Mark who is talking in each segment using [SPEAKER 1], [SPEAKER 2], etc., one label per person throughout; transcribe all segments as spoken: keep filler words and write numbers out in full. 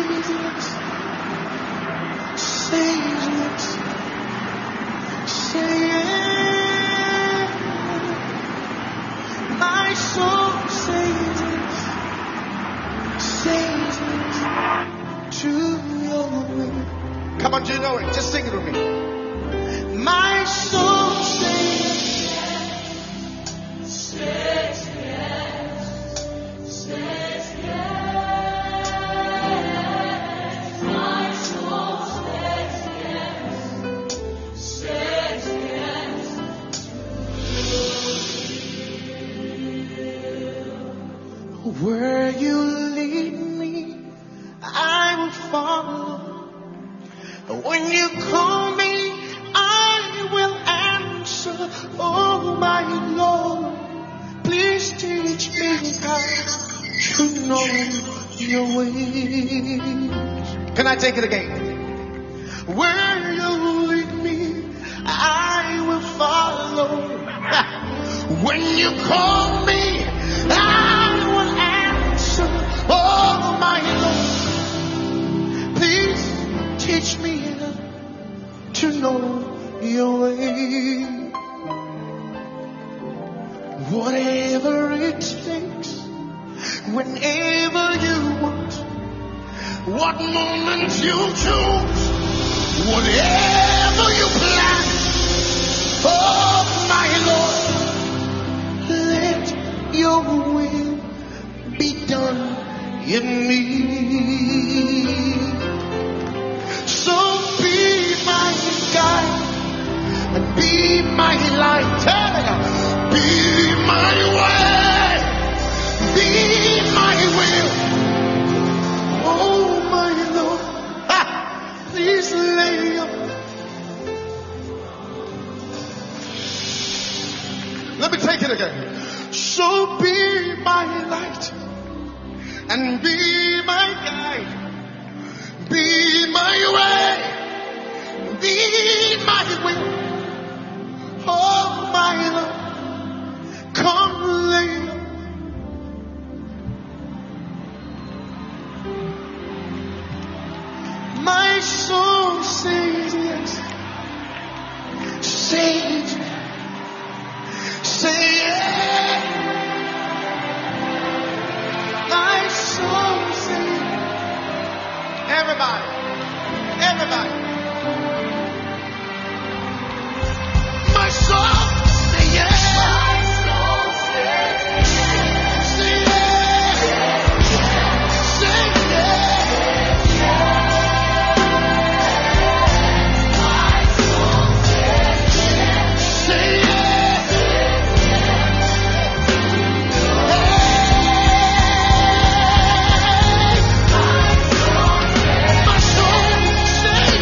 [SPEAKER 1] yes. Say yes. Say yes. My soul says yes. Says yes to your will. Come on, do you know it? Just sing it with me. My soul says yes. Says yes. Says yes. My soul says yes. Says yes. Where you lead me, I will follow. When you call me, I will answer. Oh my Lord, please teach me how to know your ways. Can I take it again? Where you lead me, I will follow. When you call me, I will answer. Oh my Lord, please teach me to know your way. Whatever it takes, whenever you want, what moment you choose, whatever you plan. Oh my Lord, let your will be done in me. So be my guide and be my light. Be my way, be my will. Oh my Lord, ha, please lay your. Let me take it again. So be my light and be my guide. Be my way, be my will. Oh my Lord, come lay. My soul says yes. Says yes. Say yes. My soul says yes. Everybody, everybody. My soul say yes. My soul says yes. Say yes. Say yes. My soul says yes. Say yes. My soul says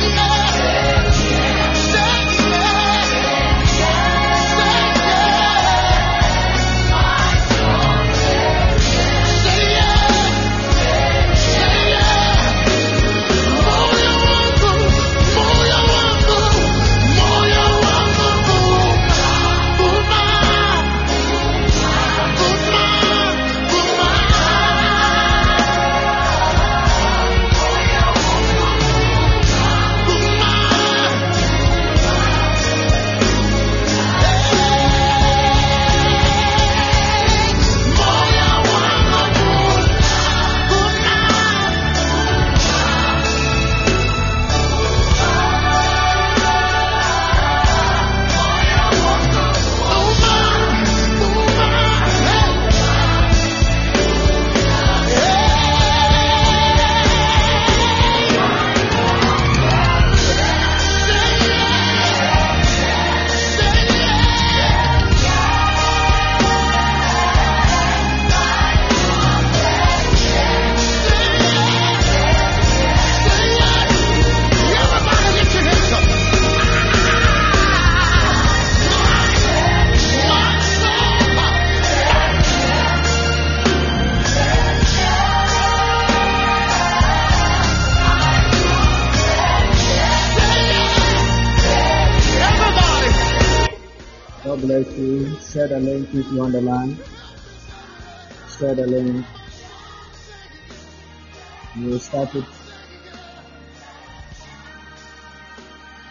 [SPEAKER 2] God bless you. Share the link if you on the line. Share the link. We will start it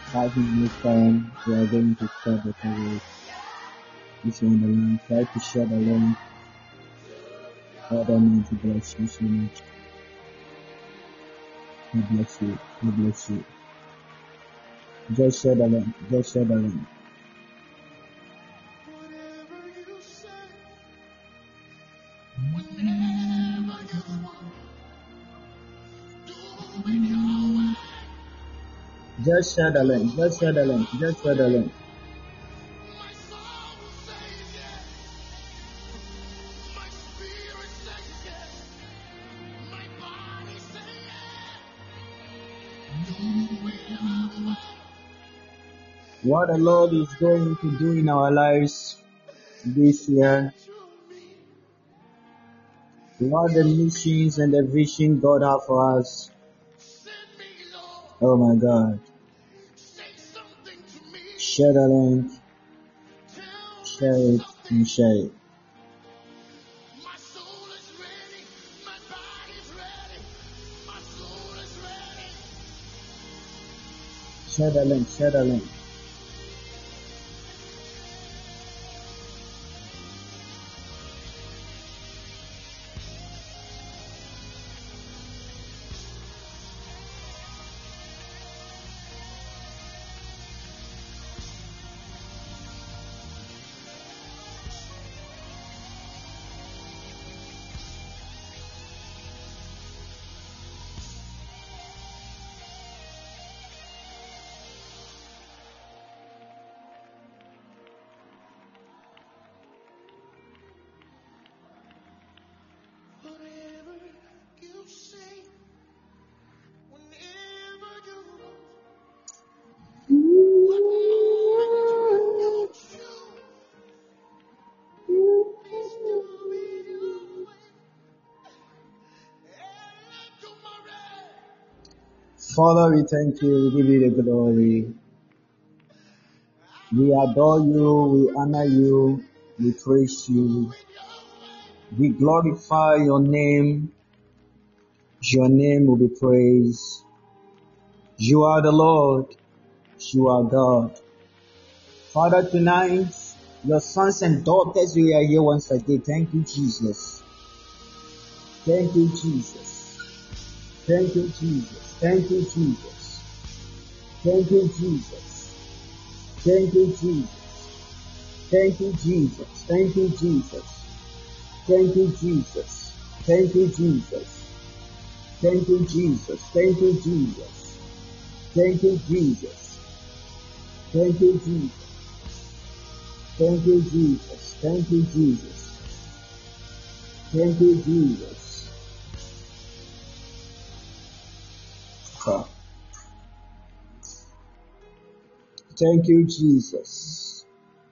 [SPEAKER 2] Five minutes time, we are going to start the service. If you're on the line, try to share the link. God Almighty bless you so much. God bless you. God bless you. Just share the link. Just share the link. Just share the link. Just share the link. Just share the link. What the Lord is going to do in our lives this year, what the missions and the vision God has for us. Oh my God. Share the link, share it, and share it. Share the link, share the link. Father, we thank you, we give you the glory. We adore you, we honor you, we praise you. We glorify your name. Your name will be praised. You are the Lord. You are God. Father, tonight, your sons and daughters, we are here once again. Thank you, Jesus. Thank you, Jesus. Thank you, Jesus. Thank you, Jesus. Thank you, Jesus. Thank you, Jesus. Thank you, Jesus. Thank you, Jesus. Thank you, Jesus. Thank you, Jesus. Thank you, Jesus. Thank you, Jesus. Thank you, Jesus. Thank you, Jesus. Thank you, Jesus. Thank you, Jesus. Thank you, Jesus. Huh. Thank you, Jesus.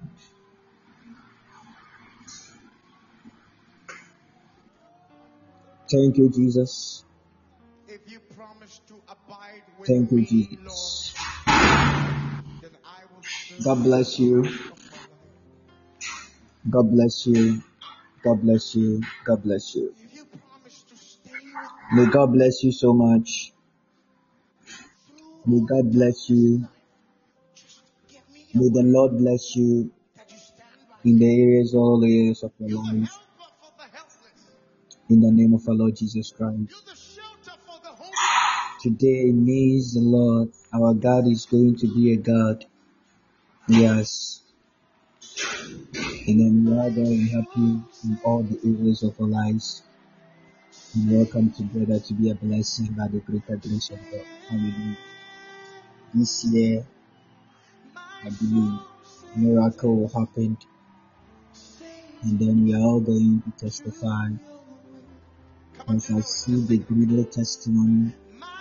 [SPEAKER 2] Thank you, Jesus.
[SPEAKER 1] If you promise to abide with
[SPEAKER 2] Thank you,
[SPEAKER 1] me,
[SPEAKER 2] Jesus.
[SPEAKER 1] Lord, then I will serve
[SPEAKER 2] God bless you.
[SPEAKER 1] of my life.
[SPEAKER 2] God bless you. God bless you. God bless you.
[SPEAKER 1] If you promise to stay with
[SPEAKER 2] May
[SPEAKER 1] me
[SPEAKER 2] God bless you so much.
[SPEAKER 1] through
[SPEAKER 2] May
[SPEAKER 1] all
[SPEAKER 2] God
[SPEAKER 1] the
[SPEAKER 2] bless
[SPEAKER 1] darkness
[SPEAKER 2] you.
[SPEAKER 1] night, just give me your
[SPEAKER 2] May the
[SPEAKER 1] word
[SPEAKER 2] Lord bless you
[SPEAKER 1] that you stand by
[SPEAKER 2] in the
[SPEAKER 1] me.
[SPEAKER 2] areas, all areas of your
[SPEAKER 1] You're the
[SPEAKER 2] life.
[SPEAKER 1] helper for the helpless.
[SPEAKER 2] In the name of our Lord Jesus
[SPEAKER 1] You're
[SPEAKER 2] Christ.
[SPEAKER 1] the shelter for the homeless.
[SPEAKER 2] Today, means the Lord, our God is going to be a God. Yes. And then we are going to be happy in all the areas of our lives. And we all come together to be a blessing by the greater grace of God. Hallelujah. This year, I believe a miracle will happen. And then we are all going to testify. As I see the greater testimony,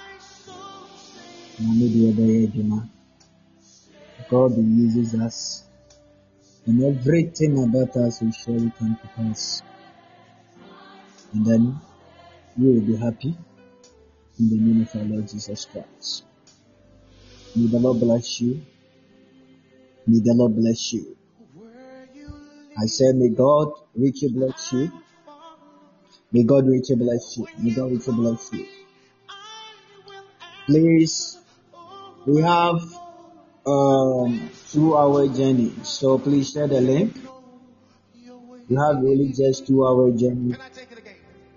[SPEAKER 2] God uses us. And everything about us will surely come to pass. And then we will be happy in the name of our Lord Jesus Christ. May the Lord bless you. May the Lord bless you. I say, may God richly bless you. May God richly bless you. May God richly bless you. Please, we have um two-hour journey. So please share the link. You have really just two-hour journey.
[SPEAKER 1] Can I take it again?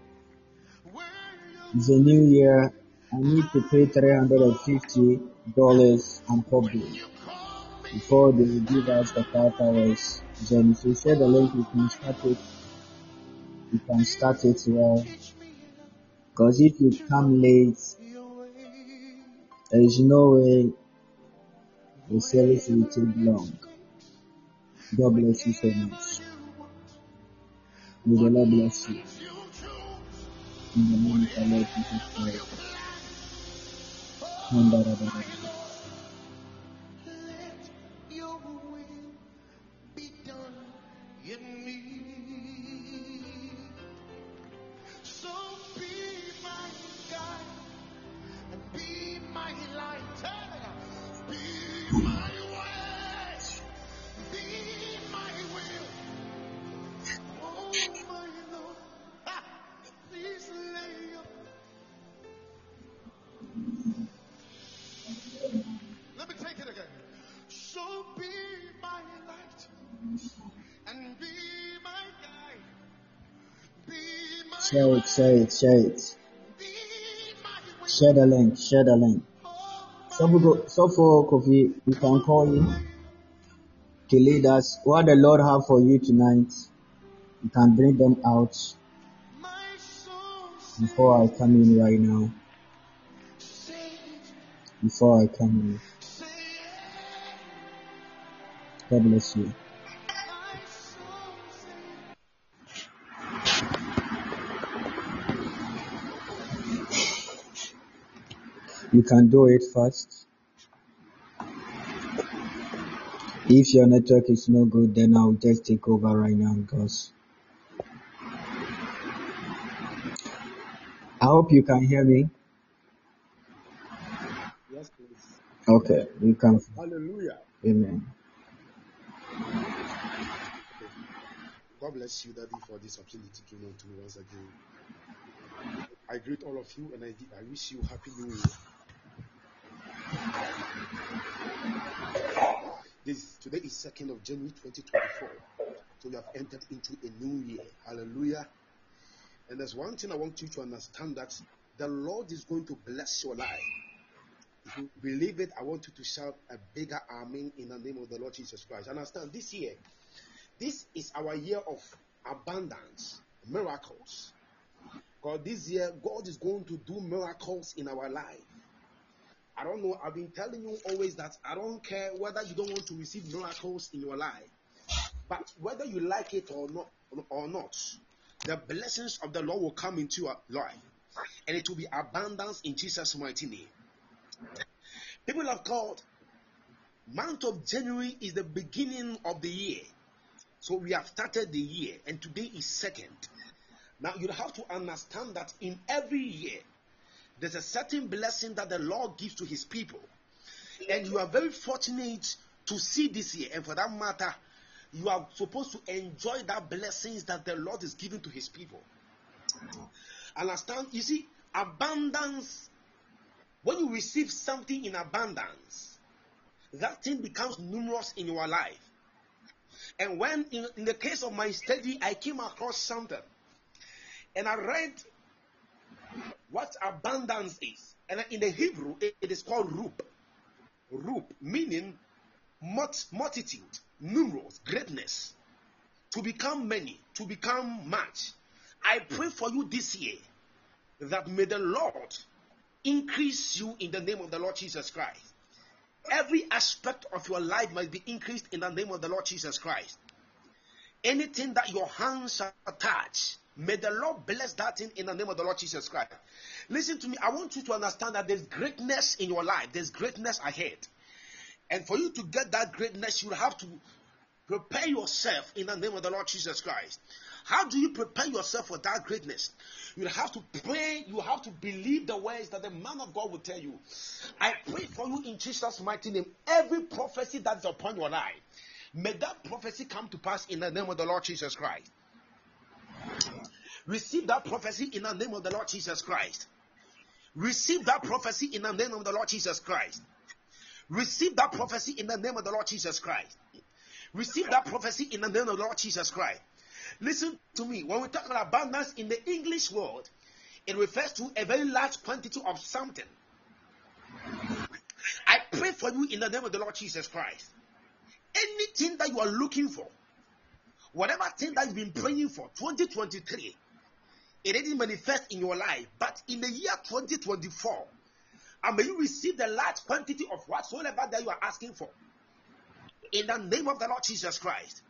[SPEAKER 2] It's a new year. I need to pay three hundred and fifty dollars on public before they will give us the five hours journey. So share the link. You can start it. You can start it well. Because if you come late, there is no way the service will take long. God bless you so much. May the Lord bless you. In the name of the Lord Jesus Christ.
[SPEAKER 1] Let your will be done in me. So be my guide and be my light. Be my way. Be my will. Oh my Lord. Ah, please lay your. Let me take it again. So be my light and be my guide. Be my
[SPEAKER 2] Share it, share it, share it.
[SPEAKER 1] be my way.
[SPEAKER 2] Share the link, share the link. So, we go, so for Kofi, you can call in to lead us. What the Lord have for you tonight, you can bring them out
[SPEAKER 1] My soul
[SPEAKER 2] before I come in right now.
[SPEAKER 1] say it,
[SPEAKER 2] Before I come in.
[SPEAKER 1] say it.
[SPEAKER 2] God bless you.
[SPEAKER 1] My soul say
[SPEAKER 2] You can do it fast. If your network is no good, then I'll just take over right now because I hope you can hear me.
[SPEAKER 3] Yes, please.
[SPEAKER 2] Okay, you can.
[SPEAKER 3] Hallelujah.
[SPEAKER 2] Amen.
[SPEAKER 3] God bless you, Daddy, for this opportunity given to me once again. I greet all of you and I, I wish you Happy New Year. This today is second of January twenty twenty-four. So we have entered into a new year. Hallelujah. And there's one thing I want you to understand, that the Lord is going to bless your life. If you believe it, I want you to shout a bigger amen in the name of the Lord Jesus Christ. Understand, this year, this is our year of abundance, miracles. God, this year, God is going to do miracles in our life. I don't know, I've been telling you always that I don't care whether you don't want to receive miracles in your life, but whether you like it or not, or not, the blessings of the Lord will come into your life, and it will be abundance in Jesus' mighty name. People of God, month of January is the beginning of the year. So we have started the year, and today is second. Now you have to understand that in every year, there's a certain blessing that the Lord gives to his people. And you are very fortunate to see this year. And for that matter, you are supposed to enjoy that blessings that the Lord is giving to his people. Understand? You see, abundance, when you receive something in abundance, that thing becomes numerous in your life. And when, in, in the case of my study, I came across something. And I read what abundance is. And in the Hebrew, it, it is called rup. Rup, meaning multitude, numerous, greatness. To become many, to become much. I pray for you this year that may the Lord increase you in the name of the Lord Jesus Christ. Every aspect of your life must be increased in the name of the Lord Jesus Christ. Anything that your hands shall touch, may the Lord bless that thing in the name of the Lord Jesus Christ. Listen to me. I want you to understand that there's greatness in your life. There's greatness ahead. And for you to get that greatness, you have to prepare yourself in the name of the Lord Jesus Christ. How do you prepare yourself for that greatness? You have to pray. You have to believe the words that the man of God will tell you. I pray for you in Jesus' mighty name. Every prophecy that is upon your life, may that prophecy come to pass in the name of the Lord Jesus Christ. Receive that prophecy in the name of the Lord Jesus Christ. Receive that prophecy in the name of the Lord Jesus Christ. Receive that prophecy in the name of the Lord Jesus Christ. Receive that prophecy in the name of the Lord Jesus Christ. Listen to me. When we talk about abundance in the English word, it refers to a very large quantity of something. I pray for you in the name of the Lord Jesus Christ. Anything that you are looking for, whatever thing that you've been praying for, twenty twenty-three, it didn't manifest in your life, but in the year twenty twenty-four, and may you receive the large quantity of whatsoever that you are asking for. In the name of the Lord Jesus Christ.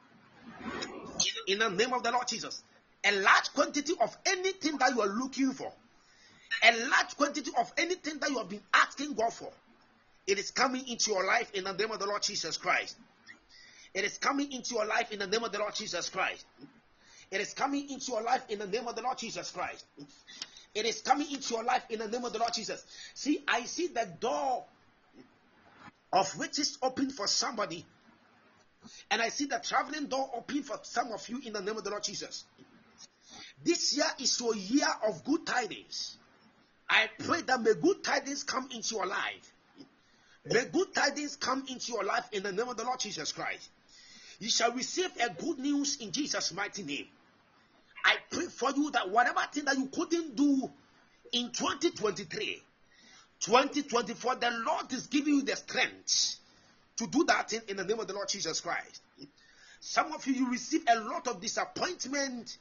[SPEAKER 3] In the name of the Lord Jesus. A large quantity of anything that you are looking for. A large quantity of anything that you have been asking God for. It is coming into your life in the name of the Lord Jesus Christ. It is coming into your life in the name of the Lord Jesus Christ. It is coming into your life in the name of the Lord Jesus Christ. It is coming into your life in the name of the Lord Jesus. See, I see the door of riches open for somebody. And I see the traveling door open for some of you in the name of the Lord Jesus. This year is your year of good tidings. I pray that may good tidings come into your life. May good tidings come into your life in the name of the Lord Jesus Christ. You shall receive a good news in Jesus' mighty name. I pray for you that whatever thing that you couldn't do in twenty twenty-three, twenty twenty-four, the Lord is giving you the strength to do that thing in the name of the Lord Jesus Christ. Some of you, you receive a lot of disappointment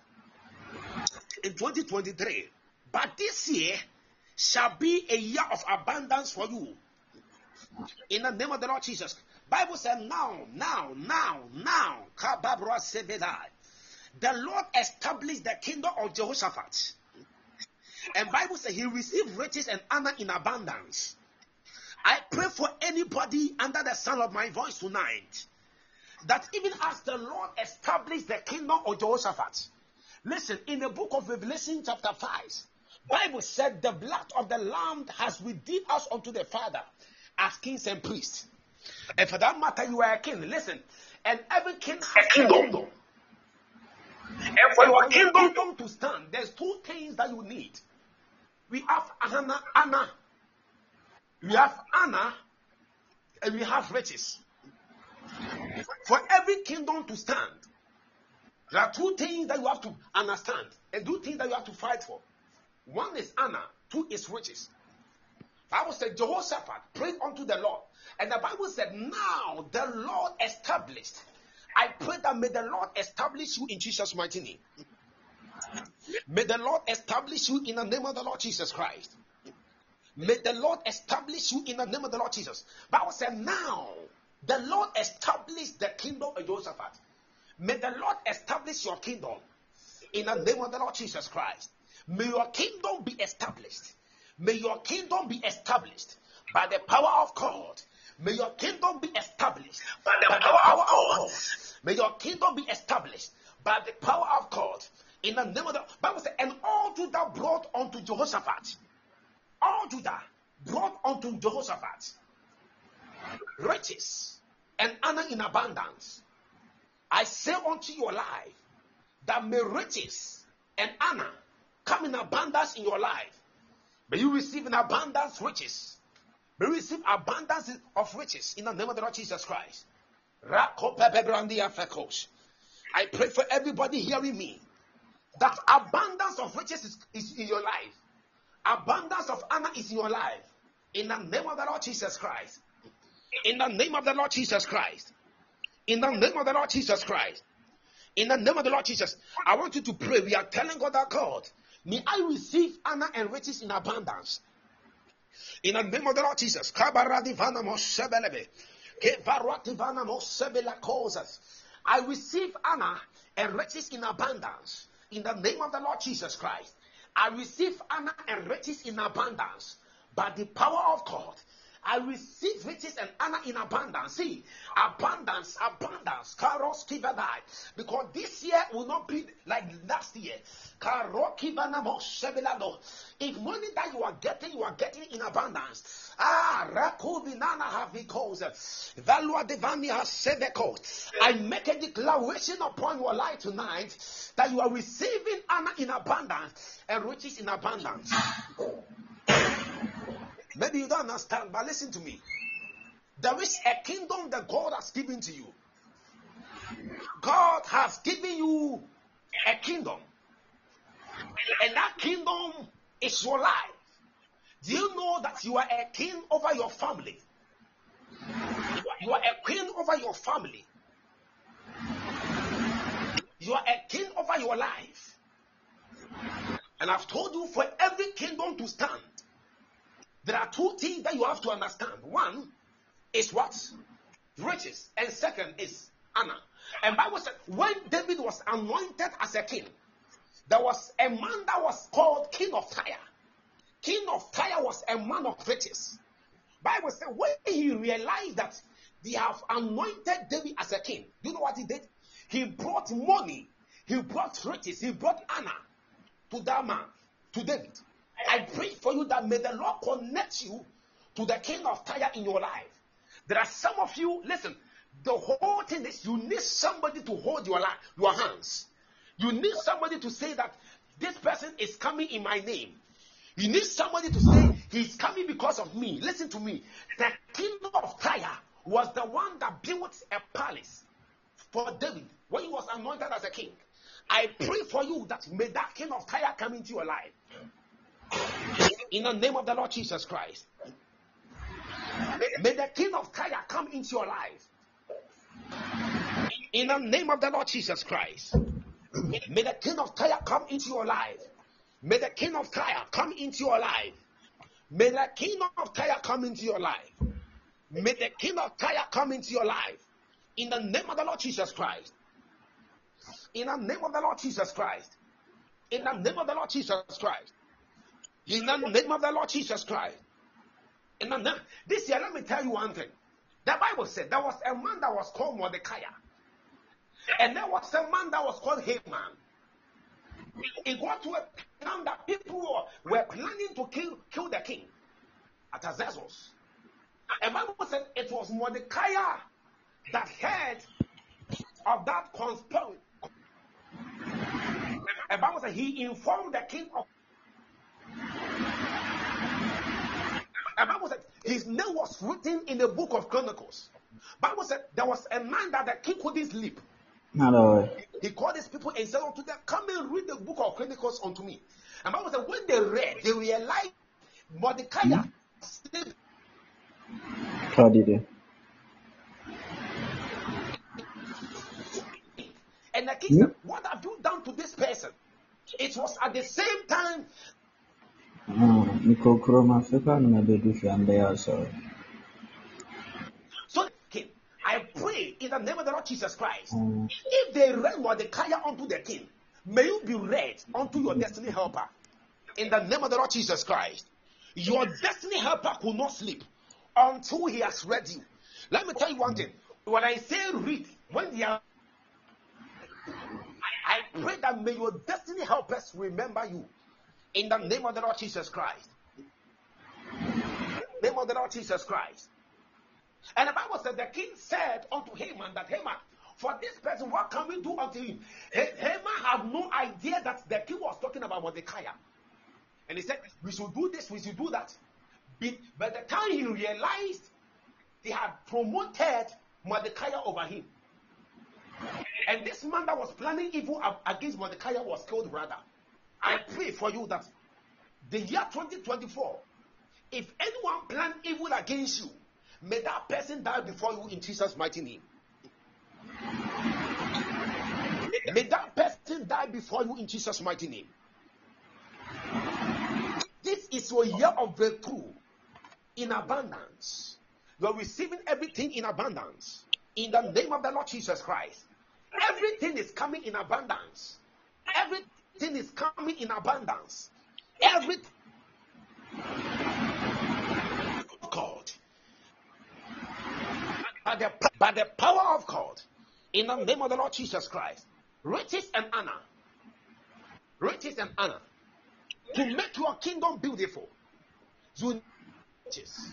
[SPEAKER 3] in twenty twenty-three, but this year shall be a year of abundance for you in the name of the Lord Jesus. Bible said now, now, now, now, the Lord established the kingdom of Jehoshaphat. And Bible says he received riches and honor in abundance. I pray for anybody under the sound of my voice tonight, that even as the Lord established the kingdom of Jehoshaphat, listen, in the book of Revelation chapter five, Bible said the blood of the Lamb has redeemed us unto the Father as kings and priests. And for that matter, you are a king. Listen, and every king has a kingdom. And for your kingdom, kingdom to stand, there's two things that you need. We have Anna, Anna. We have Anna, and we have riches. For every kingdom to stand, there are two things that you have to understand, and two things that you have to fight for. One is Anna, two is riches. The Bible said Jehoshaphat prayed unto the Lord, and the Bible said, now the Lord established. I pray that may the Lord establish you in Jesus' mighty name. May the Lord establish you in the name of the Lord Jesus Christ. May the Lord establish you in the name of the Lord Jesus. The Bible said, now the Lord established the kingdom of Jehoshaphat. May the Lord establish your kingdom in the name of the Lord Jesus Christ. May your kingdom be established. May your kingdom be established by the power of God. May your kingdom be established by the, by power, the power of God. God. May your kingdom be established by the power of God. In the name of the Bible says, and all Judah brought unto Jehoshaphat. All Judah brought unto Jehoshaphat riches and honor in abundance. I say unto your life that may riches and honor come in abundance in your life. May you receive in abundance riches. May you receive abundance of riches in the name of the Lord Jesus Christ. I pray for everybody hearing me that abundance of riches is, is in your life. Abundance of honor is in your life. In the name of the Lord Jesus Christ. In the name of the Lord Jesus Christ. In the name of the Lord Jesus Christ. In the name of the Lord Jesus. I want you to pray. We are telling God that God, may I receive honor and riches in abundance. In the name of the Lord Jesus. I receive honor and riches in abundance. In the name of the Lord Jesus Christ. I receive honor and riches in abundance by the power of God. I receive riches and honor in abundance. See, abundance, abundance. Because this year will not be like last year. If money that you are getting, you are getting in abundance. Ah, I make a declaration upon your life tonight that you are receiving honor in abundance and riches in abundance. Maybe you don't understand, but listen to me. There is a kingdom that God has given to you. God has given you a kingdom. And that kingdom is your life. Do you know that you are a king over your family? You are a queen over your family. You are a king over your life. And I've told you, for every kingdom to stand, there are two things that you have to understand. One is what? Riches. And second is honor. And Bible said when David was anointed as a king, there was a man that was called King of Tyre. King of Tyre was a man of riches. Bible said when he realized that they have anointed David as a king, you know what he did? He brought money, he brought riches, he brought honor to that man, to David. I pray for you that may the Lord connect you to the King of Tyre in your life. There are some of you, listen, the whole thing is you need somebody to hold your life, your hands. You need somebody to say that this person is coming in my name. You need somebody to say he's coming because of me. Listen to me. The kingdom of Tyre was the one that built a palace for David when he was anointed as a king. I pray for you that may that King of Tyre come into your life. In the name of the Lord Jesus Christ. May the King of Tyre come into your life. In the name of the Lord Jesus Christ. May the King of Tyre come into your life. May the King of Tyre come into your life. May the King of Tyre come into your life. May the King of Tyre come into your life. In the name of the Lord Jesus Christ. In the name of the Lord Jesus Christ. In the name of the Lord Jesus Christ. In the name of the Lord Jesus Christ. In the name, this year, let me tell you one thing. The Bible said there was a man that was called Mordecai. And there was a man that was called Haman. It got to a time that people were planning to kill, kill the king at Azazel. And Bible said it was Mordecai that heard of that conspiracy. And Bible said he informed the king of. And Bible said his name was written in the book of Chronicles. Bible said there was a man that the king couldn't sleep.
[SPEAKER 2] Hello.
[SPEAKER 3] He called his people and said unto them, come and read the book of Chronicles unto me. And Bible said when they read, they realized Mordecai
[SPEAKER 2] Hmm?
[SPEAKER 3] slept.
[SPEAKER 2] How did it?
[SPEAKER 3] And the king
[SPEAKER 2] Hmm?
[SPEAKER 3] said, what have you done to this person? It was at the same time.
[SPEAKER 2] Ah, Nico Chroma Africa, no, they do for there, sorry.
[SPEAKER 3] So, king, I pray in the name of the Lord Jesus Christ,
[SPEAKER 2] Um,
[SPEAKER 3] if they read Mordecai unto the king, may you be read unto your destiny helper. In the name of the Lord Jesus Christ, your destiny helper could not sleep until he has read you. Let me tell you one thing. When I say read, when they are, I pray that may your destiny helpers remember you. In the name of the Lord Jesus Christ. Name of the Lord Jesus Christ. And the Bible said the king said unto Haman that Haman, for this person, what can we do unto him? Haman had no idea that the king was talking about Mordecai. And he said, we should do this, we should do that. But by the time he realized, he had promoted Mordecai over him. And this man that was planning evil against Mordecai was killed, brother. I pray for you that the year twenty twenty-four, if anyone plan evil against you, may that person die before you in Jesus' mighty name. May that person die before you in Jesus' mighty name. This is your year of breakthrough in abundance. You are receiving everything in abundance. In the name of the Lord Jesus Christ. Everything is coming in abundance. Everything is coming in abundance. Everything. God. By the, by the power of God. In the name of the Lord Jesus Christ. Riches and honor. Riches and honor. To make your kingdom beautiful. You need riches.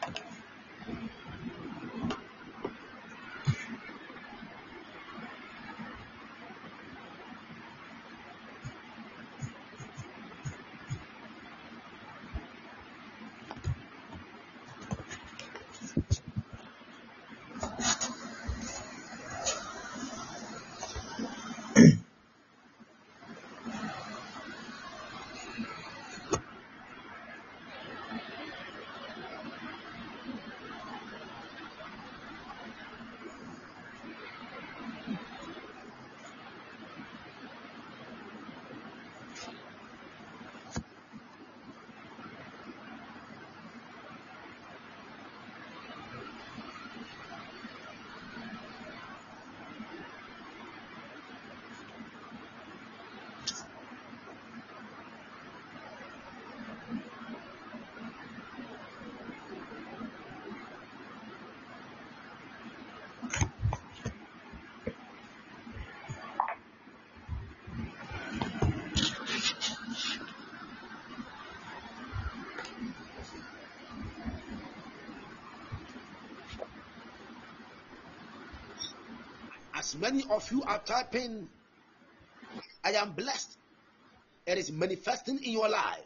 [SPEAKER 3] As many of you are typing, I am blessed, it is manifesting in your life.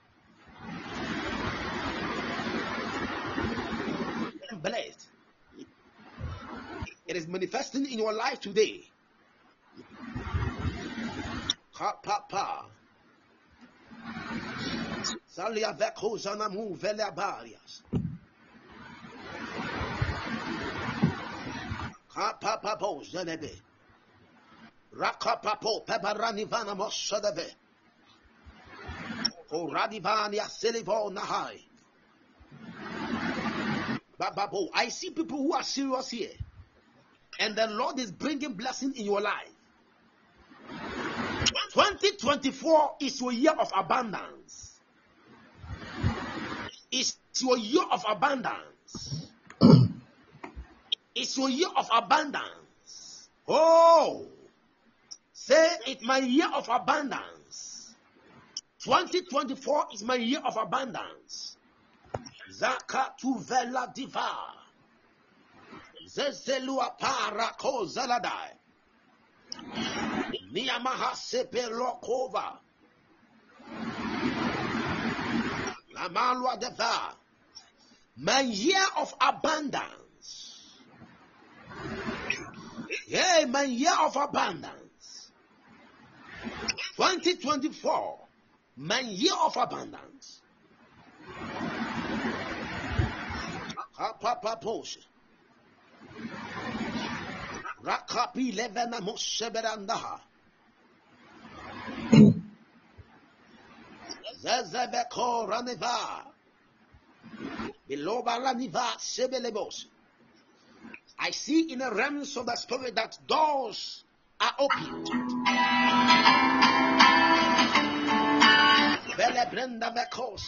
[SPEAKER 3] I am blessed. It is manifesting in your life today. Ha pa pa. Salia veko zanamu vele barias. Ha pa pa po zanebe. Raka pa po pebarani vana mosadebe. O radivania selivo nahai. Bababo, I see people who are serious here. And the Lord is bringing blessing in your life. twenty twenty-four is your year of abundance. It's your year of abundance. It's your year of abundance. Oh, say it, my year of abundance. twenty twenty-four is my year of abundance. Zakatu vela diva. Zezelua para ko zaladai. Niyamaha sepelokova. Lamalwa deva. My year of abundance. Yeah, my year of abundance. twenty twenty-four. My year of abundance. Papa Posh. Rakapi levena mosheberandaha. Zezebeko raneva. Biloba raniva sebelebos. I see in the realms of the spirit that doors are opened. Belebrenda bekos.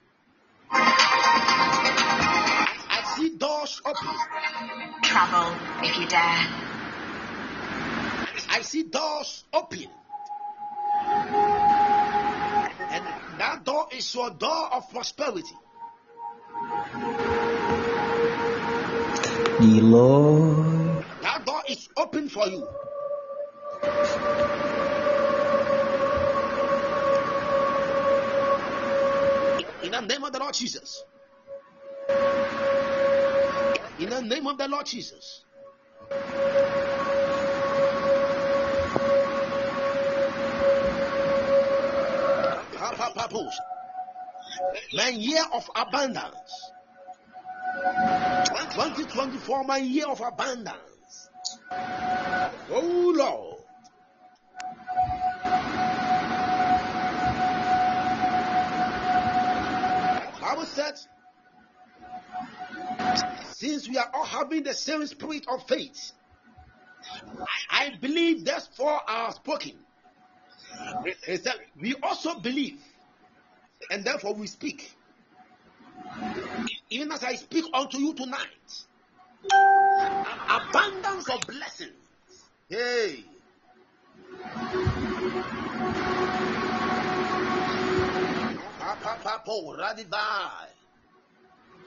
[SPEAKER 3] I see doors open.
[SPEAKER 4] Travel if you dare.
[SPEAKER 3] I see doors open. And that door is your door of prosperity.
[SPEAKER 2] The Lord.
[SPEAKER 3] That door is open for you. In the name of the Lord Jesus. In the name of the Lord Jesus. My year of abundance. twenty twenty-four, my year of abundance. Oh Lord. Bible said, since we are all having the same spirit of faith, I believe therefore are spoken. It said, we also believe, and therefore we speak. Even as I speak unto you tonight, abundance of blessings. Hey.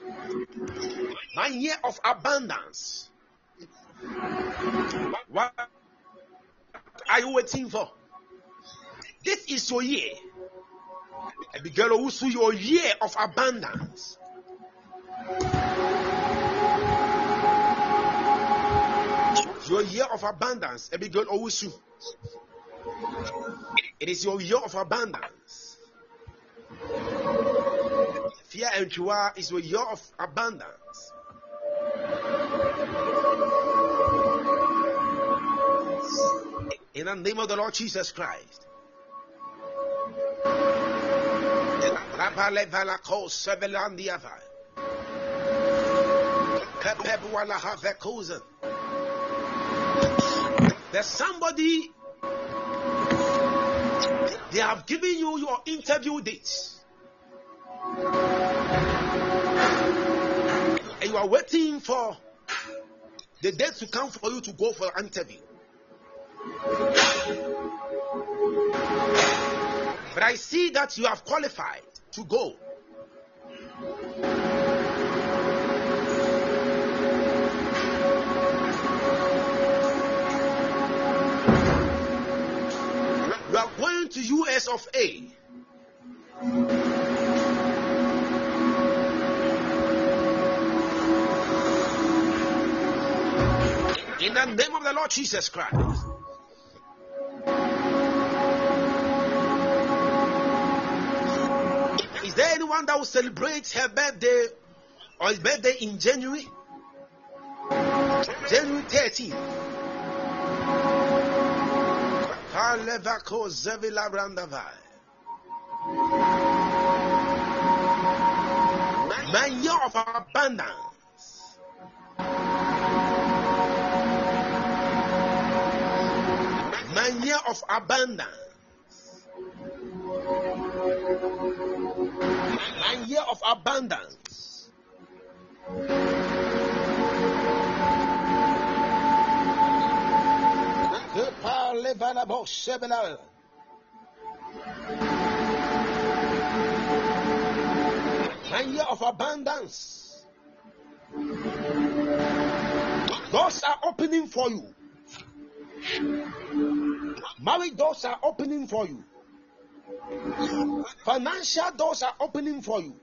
[SPEAKER 3] My year of abundance. What are you waiting for? This is your year. Abigail Owusu, your year of abundance. Your year of abundance, Abigail Owusu. It is your year of abundance. Fear and Chua is your year of abundance. In the name of the Lord Jesus Christ. There's somebody, they have given you your interview dates, and you are waiting for the date to come for you to go for an interview. But I see that you have qualified to go. You are going to U S of A. In the name of the Lord Jesus Christ. Is there anyone that will celebrate her birthday or his birthday in January? January thirteenth. My year of abundance. My year of abundance. My year of abundance. My year of abundance. Doors are opening for you. Marriage doors are opening for you. Financial doors are opening for you.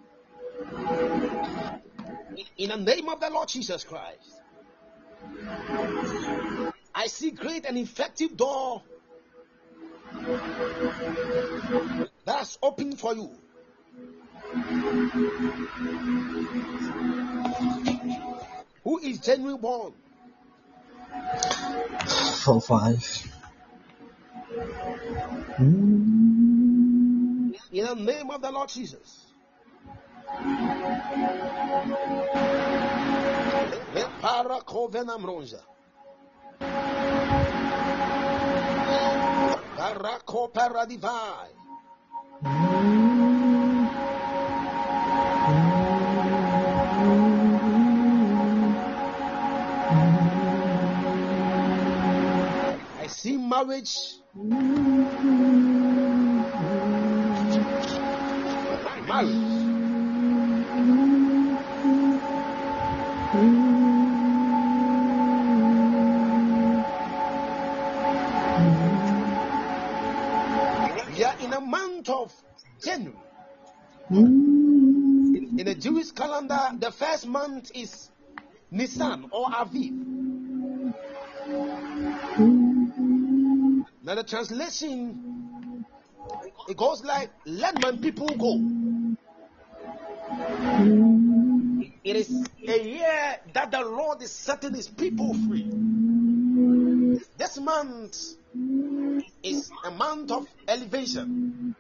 [SPEAKER 3] In the name of the Lord Jesus Christ. I see great and effective door that's open for you. Who is genuinely born?
[SPEAKER 2] Four, five. Mm.
[SPEAKER 3] In the name of the Lord Jesus. I see marriage. Marriage. We are in a month of January. In the Jewish calendar, the first month is Nisan or Aviv. Now the translation, it goes like, let my people go. It is a year that the Lord is setting his people free. This month is a month of elevation,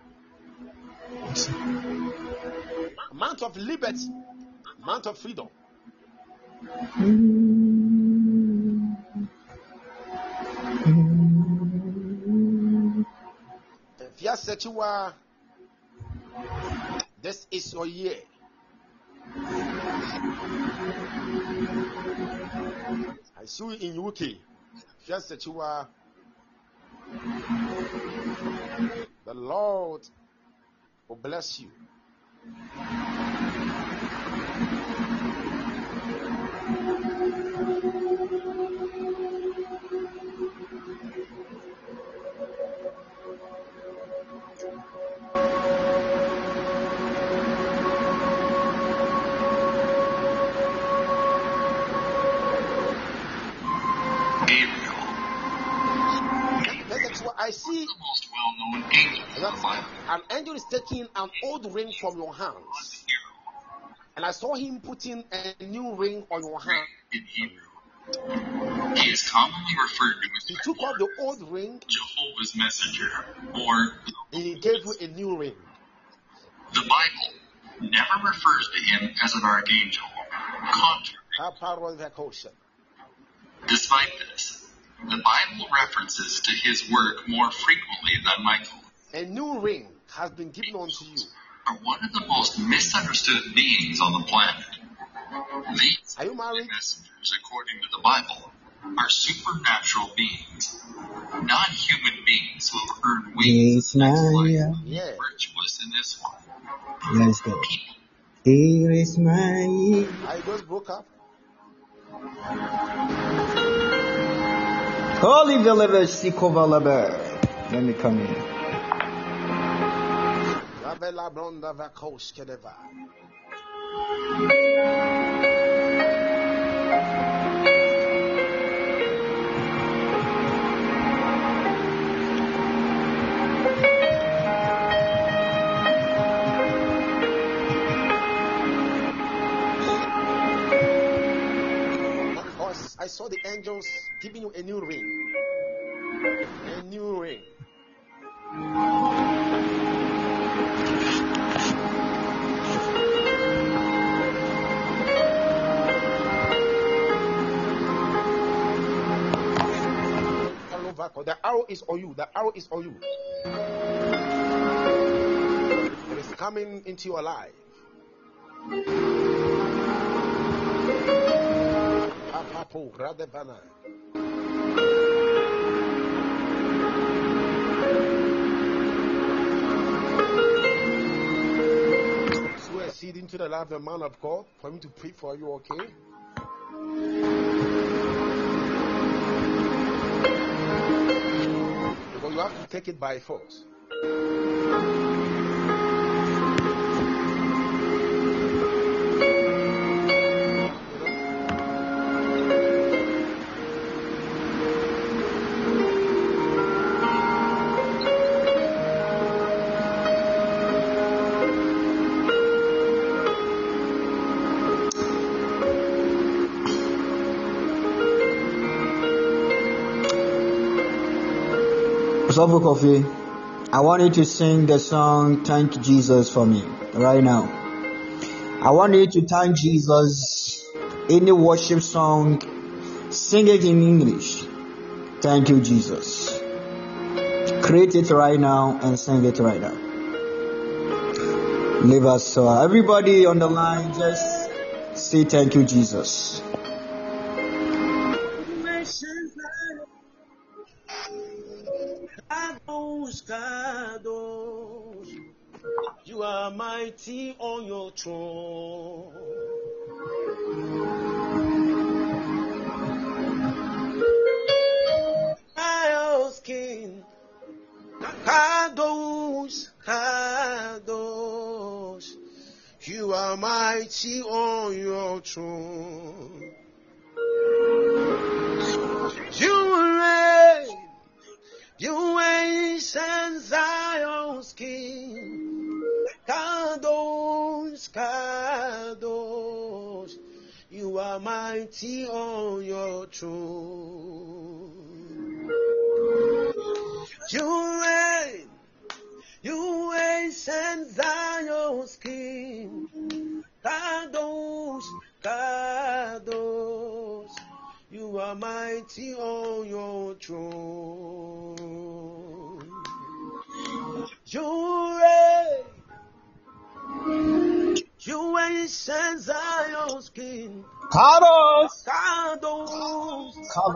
[SPEAKER 3] a month of liberty, a month of freedom. If you said you are, this is your year. I see you in U K. If you said you are, the Lord will bless you. angel is taking an old ring from your hands. And I saw him putting a new ring on your hand.
[SPEAKER 5] In Hebrew, he is commonly referred to as
[SPEAKER 3] He took off the old ring
[SPEAKER 5] Jehovah's Messenger, or
[SPEAKER 3] and he gave you a new ring.
[SPEAKER 5] the Bible never refers to him as an archangel. Contrary. Despite this, the Bible references to his work more frequently than Michael.
[SPEAKER 3] A new ring has been given unto you.
[SPEAKER 5] Are one of the most misunderstood beings on the planet. These
[SPEAKER 3] Are you married?
[SPEAKER 5] messengers, according to the Bible, are supernatural beings, non-human beings who have earned wings
[SPEAKER 2] Yes, Maria.
[SPEAKER 3] Yeah.
[SPEAKER 5] virtuous in this one.
[SPEAKER 2] Let's go. Here is my.
[SPEAKER 3] I just broke up.
[SPEAKER 2] Holy Village Sikovalaba. Let me come in.
[SPEAKER 3] Ravela Bronda Vakos Kedeva. Because I saw the angels giving you a new ring. A new ring. The arrow is on you. The arrow is on you. It is coming into your life. Apapo, Radebana. Sow a seed into the life of the man of God for him to pray for you, okay? Because you have to take it by force.
[SPEAKER 2] Sofu Coffee, I want you to sing the song Thank Jesus for me right now. I want you to thank Jesus. Any worship song, sing it in English. Thank you, Jesus. Create it right now and sing it right now. Leave us so everybody on the line, just say thank you, Jesus.
[SPEAKER 3] You are mighty on your throne. Miles King, Kadosh, Kadosh. You are mighty on your throne. You reign. You ancient Zion's King, Kadosh, Kadosh, you are mighty on your throne. You reign, you ancient Zion's King, Kadosh, Kadosh, you are mighty on your throne. You reign. You ancient Zion's King.
[SPEAKER 2] Kadosh.
[SPEAKER 3] Kadosh.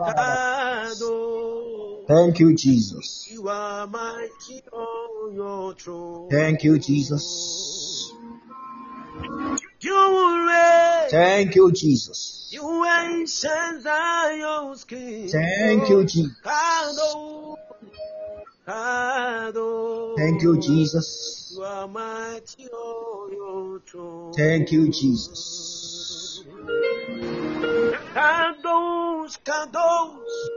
[SPEAKER 3] Kadosh.
[SPEAKER 2] Thank you, Jesus.
[SPEAKER 3] You are mighty on your throne.
[SPEAKER 2] Thank you, Jesus.
[SPEAKER 3] You reign.
[SPEAKER 2] Thank you, Jesus.
[SPEAKER 3] You ancient Zion's King.
[SPEAKER 2] Thank you, Jesus.
[SPEAKER 3] Kadosh. Kadosh.
[SPEAKER 2] Thank you, Jesus.
[SPEAKER 3] You are mighty on your throne.
[SPEAKER 2] Thank you, Jesus.
[SPEAKER 3] Kadosh, Kadosh.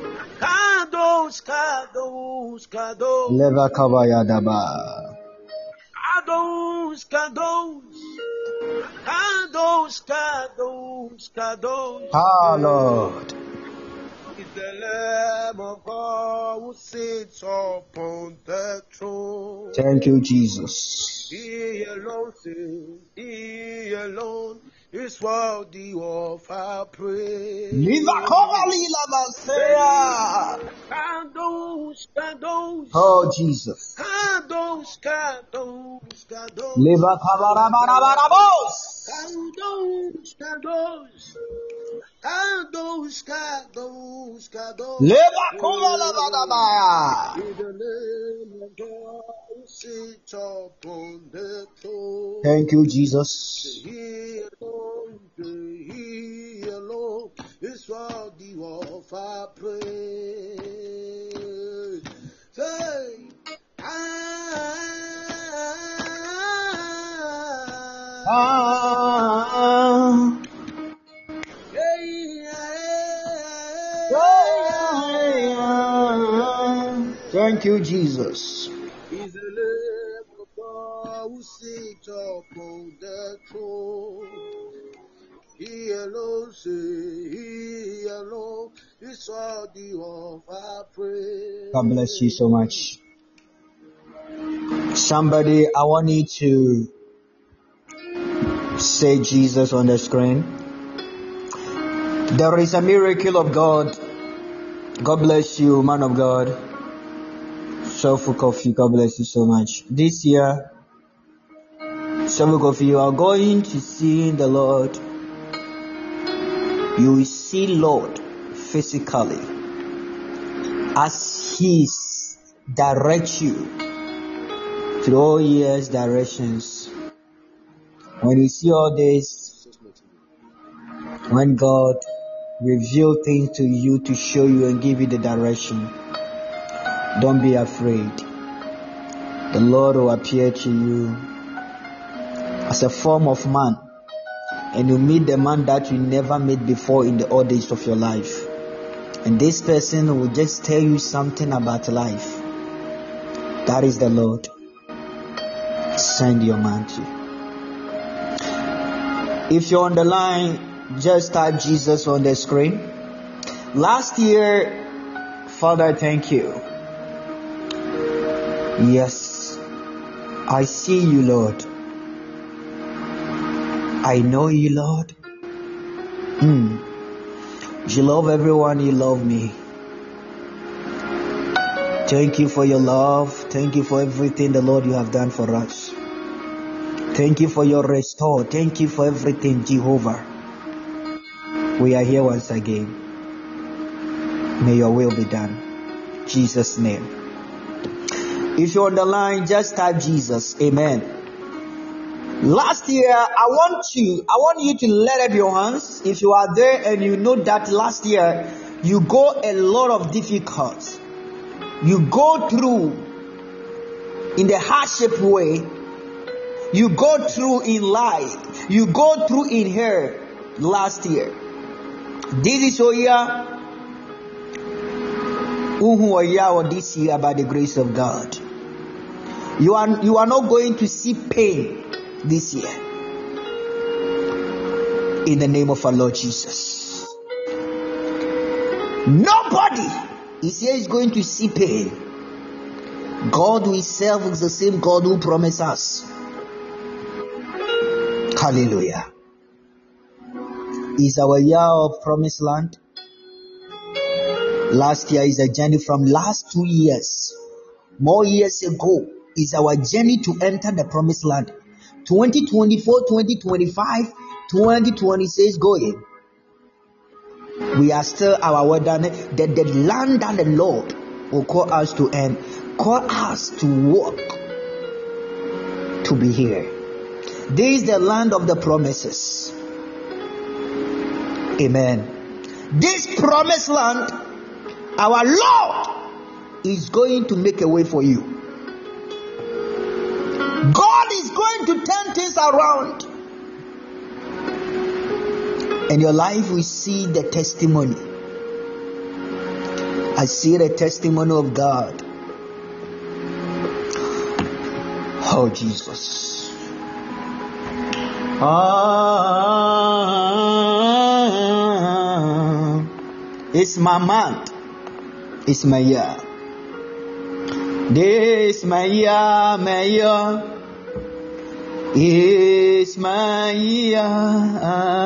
[SPEAKER 3] Kadosh, Kadosh, Kadosh.
[SPEAKER 2] Leva Kavaya Daba.
[SPEAKER 3] Kadosh, Kadosh, Kadosh, Kadosh, Kadosh.
[SPEAKER 2] Ah, Lord.
[SPEAKER 3] Is the Lamb of God who sits upon the throne.
[SPEAKER 2] Thank you, Jesus.
[SPEAKER 3] He alone sings, He alone is worthy of our praise. Kadosh, Kadosh,
[SPEAKER 2] Oh, Jesus.
[SPEAKER 3] Kadosh, Kadosh, Kadosh.
[SPEAKER 2] Leva kabarabarabarabarabos.
[SPEAKER 3] Kadosh, Kadosh, Kadosh, Kadosh, Kadosh.
[SPEAKER 2] Leva kabarabarabara.
[SPEAKER 3] In the name of God, who sits upon the throne.
[SPEAKER 2] Thank you, Jesus.
[SPEAKER 3] He alone, He alone is worthy of our praise. Say, ah,
[SPEAKER 2] Ah.
[SPEAKER 3] yeah, yeah.
[SPEAKER 2] Thank you, Jesus.
[SPEAKER 3] Is the Lamb of God who sits upon the throne. He alone say, He alone is worthy of our praise.
[SPEAKER 2] God bless you so much. Somebody, I want you to say Jesus on the screen. There is a miracle of God. God bless you, man of God. Soulful Coffee, God bless you so much. This year, Soulful Coffee, you are going to see the Lord. You will see Lord physically as He directs you through all years directions. When you see all this, when God reveal things to you to show you and give you the direction, don't be afraid. The Lord will appear to you as a form of man, and you meet the man that you never met before in the old days of your life. And this person will just tell you something about life. That is the Lord. Send your man to. If you're on the line, just type Jesus on the screen. Last year, Father, thank you. Yes, I see you, Lord. I know you, Lord. Mm. You love everyone, you love me. Thank you for your love. Thank you for everything, the Lord, you have done for us. Thank you for your restore. Thank you for everything, Jehovah. We are here once again. May your will be done. In Jesus' name. If you're on the line, just type Jesus. Amen. Last year, I want you, I want you to let up your hands. If you are there and you know that last year you go a lot of difficulties, you go through in the hardship way, you go through in life, you go through in here last year. This is your year, or this year by the grace of God. You are you are not going to see pain this year. In the name of our Lord Jesus. Nobody is here is going to see pain. God we serve is the same God who promised us. Hallelujah. Is our year of promised land. Last year is a journey from last two years. More years ago is our journey to enter the promised land. twenty twenty-four, twenty twenty-five, twenty twenty-six going. We are still our word that the, the land that the Lord will call us to end, call us to walk, to be here. This is the land of the promises. Amen. This promised land, our Lord is going to make a way for you. God is going to turn things around. And your life will see the testimony. I see the testimony of God. Oh, Jesus. Ah, it's my month. It's my year. This my year, my year. It's my year.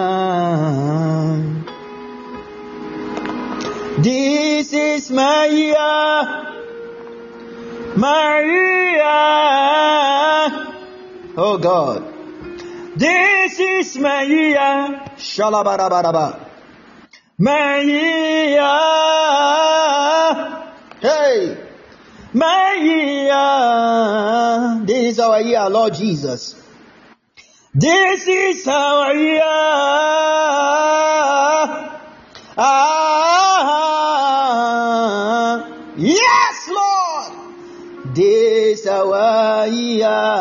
[SPEAKER 2] This is my year, my year. Oh God, this is my year. Shalabarabara. My year. Hey, my year. This is our year, Lord Jesus. This is our year. Ah, yes, Lord. This our year.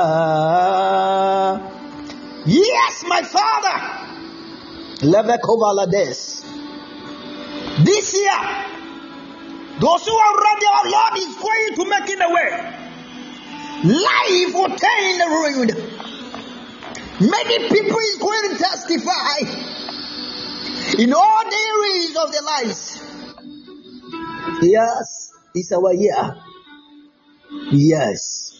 [SPEAKER 2] Yes, my Father. Levekovalades. This year, those who are ready, our Lord is going to make it a way. Life will turn the ruined. Many people is going to testify in all the areas of their lives. Yes, it's our year. Yes.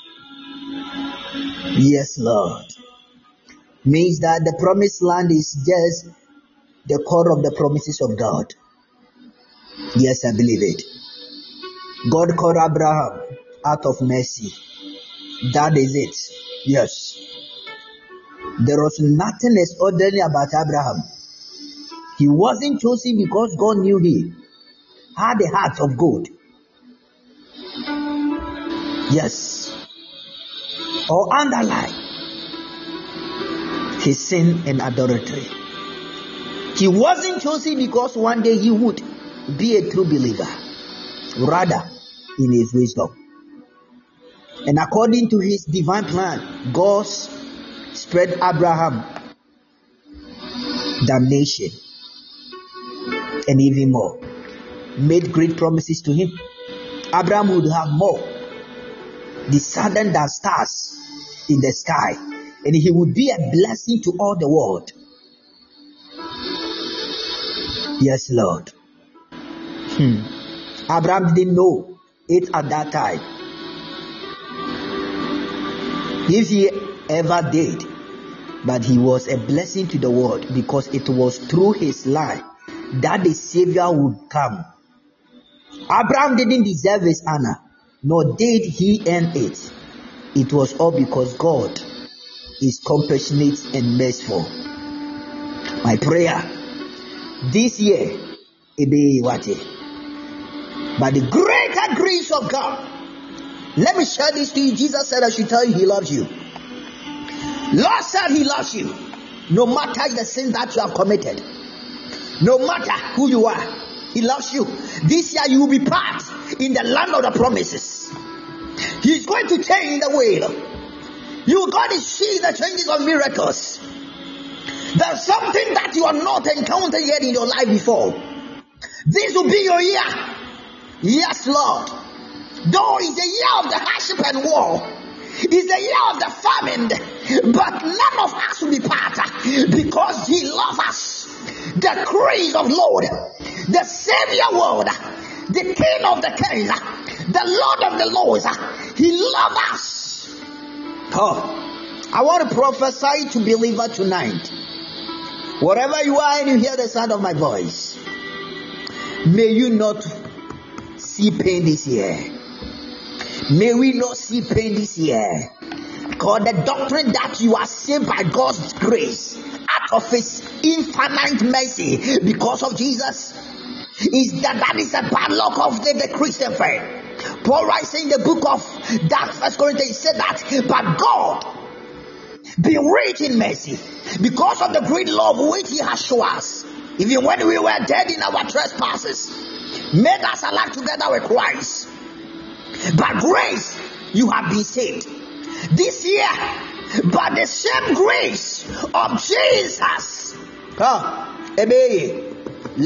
[SPEAKER 2] Yes, Lord. Means that the promised land is just the core of the promises of God. Yes, I believe it. God called Abraham out of mercy. That is it. Yes. There was nothing extraordinary about Abraham. He wasn't chosen because God knew he had a heart of gold. Yes. Or underline his sin and adultery. He wasn't chosen because one day he would be a true believer. Rather, in his wisdom. And according to his divine plan, God spread Abraham damnation and even more. Made great promises to him. Abraham would have more descendant than stars in the sky, and he would be a blessing to all the world. Yes, Lord. Hmm. Abraham didn't know it at that time. If he ever did, but he was a blessing to the world because it was through his life that the Savior would come. Abraham didn't deserve his honor, nor did he earn it. It was all because God is compassionate and merciful. My prayer this year, it be what? By the greater grace of God. Let me share this to you. Jesus said I should tell you he loves you. Lord said he loves you. No matter the sin that you have committed. No matter who you are. He loves you. This year you will be part in the land of the promises. He's going to change the wheel. You are going to see the changes of miracles. There's something that you have not encountered yet in your life before. This will be your year. Yes, Lord. Though it's the year of the hardship and war, it's the year of the famine, but none of us will be part because he loves us. The Christ of Lord, the Savior world, the King of the Kings, the Lord of the Lords, he loves us. Oh, I want to prophesy to believer tonight. Wherever you are and you hear the sound of my voice, may you not see pain this year. May we not see pain this year. Because the doctrine that you are saved by God's grace out of his infinite mercy because of Jesus is that that is a bad luck of the, the Christian faith. Paul writes in the book of that First Corinthians, he said that, but God be rich in mercy because of the great love which he has shown us. Even when we were dead in our trespasses, made us alive together with Christ. By grace, you have been saved. This year, by the same grace of Jesus.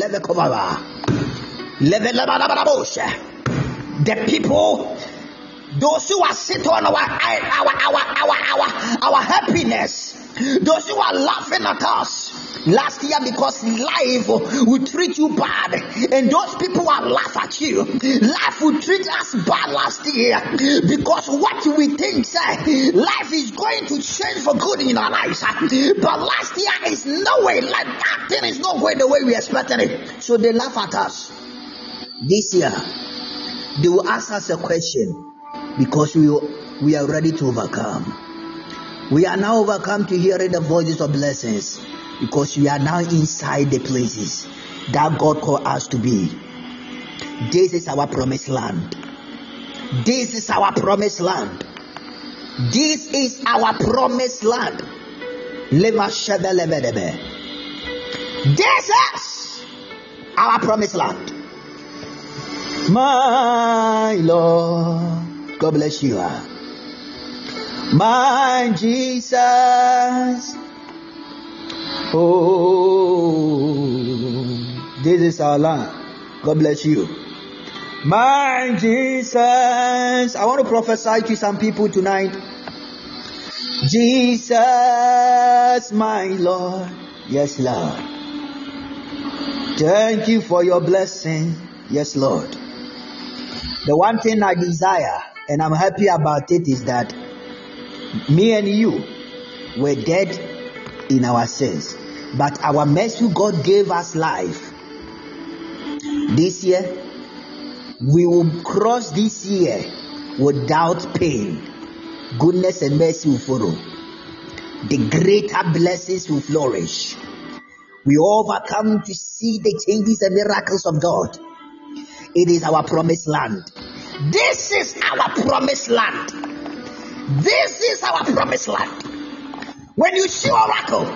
[SPEAKER 2] The people those who are sitting on our our our our our, our happiness, those who are laughing at us last year because life will treat you bad, and those who will laugh at you. Life will treat us bad last year because what we think say life is going to change for good in our lives, but last year is no way, like that thing is not going the way we expected it, so they laugh at us. This year they will ask us a question because we we are ready to overcome. We are now overcome to hearing the voices of blessings because we are now inside the places that God called us to be. This is our promised land. This is our promised land. This is our promised land. This is our promised land. My Lord, God bless you. My Jesus, oh, this is our land. God bless you. My Jesus, I want to prophesy to some people tonight. Jesus, my Lord, yes, Lord. Thank you for your blessing, yes, Lord. The one thing I desire, and I'm happy about it, is that me and you were dead in our sins, but our mercy God gave us life. This year, we will cross this year without pain. Goodness and mercy will follow. The greater blessings will flourish. We overcome to see the changes and miracles of God. It is our promised land. This is our promised land. This is our promised land. When you see Oracle,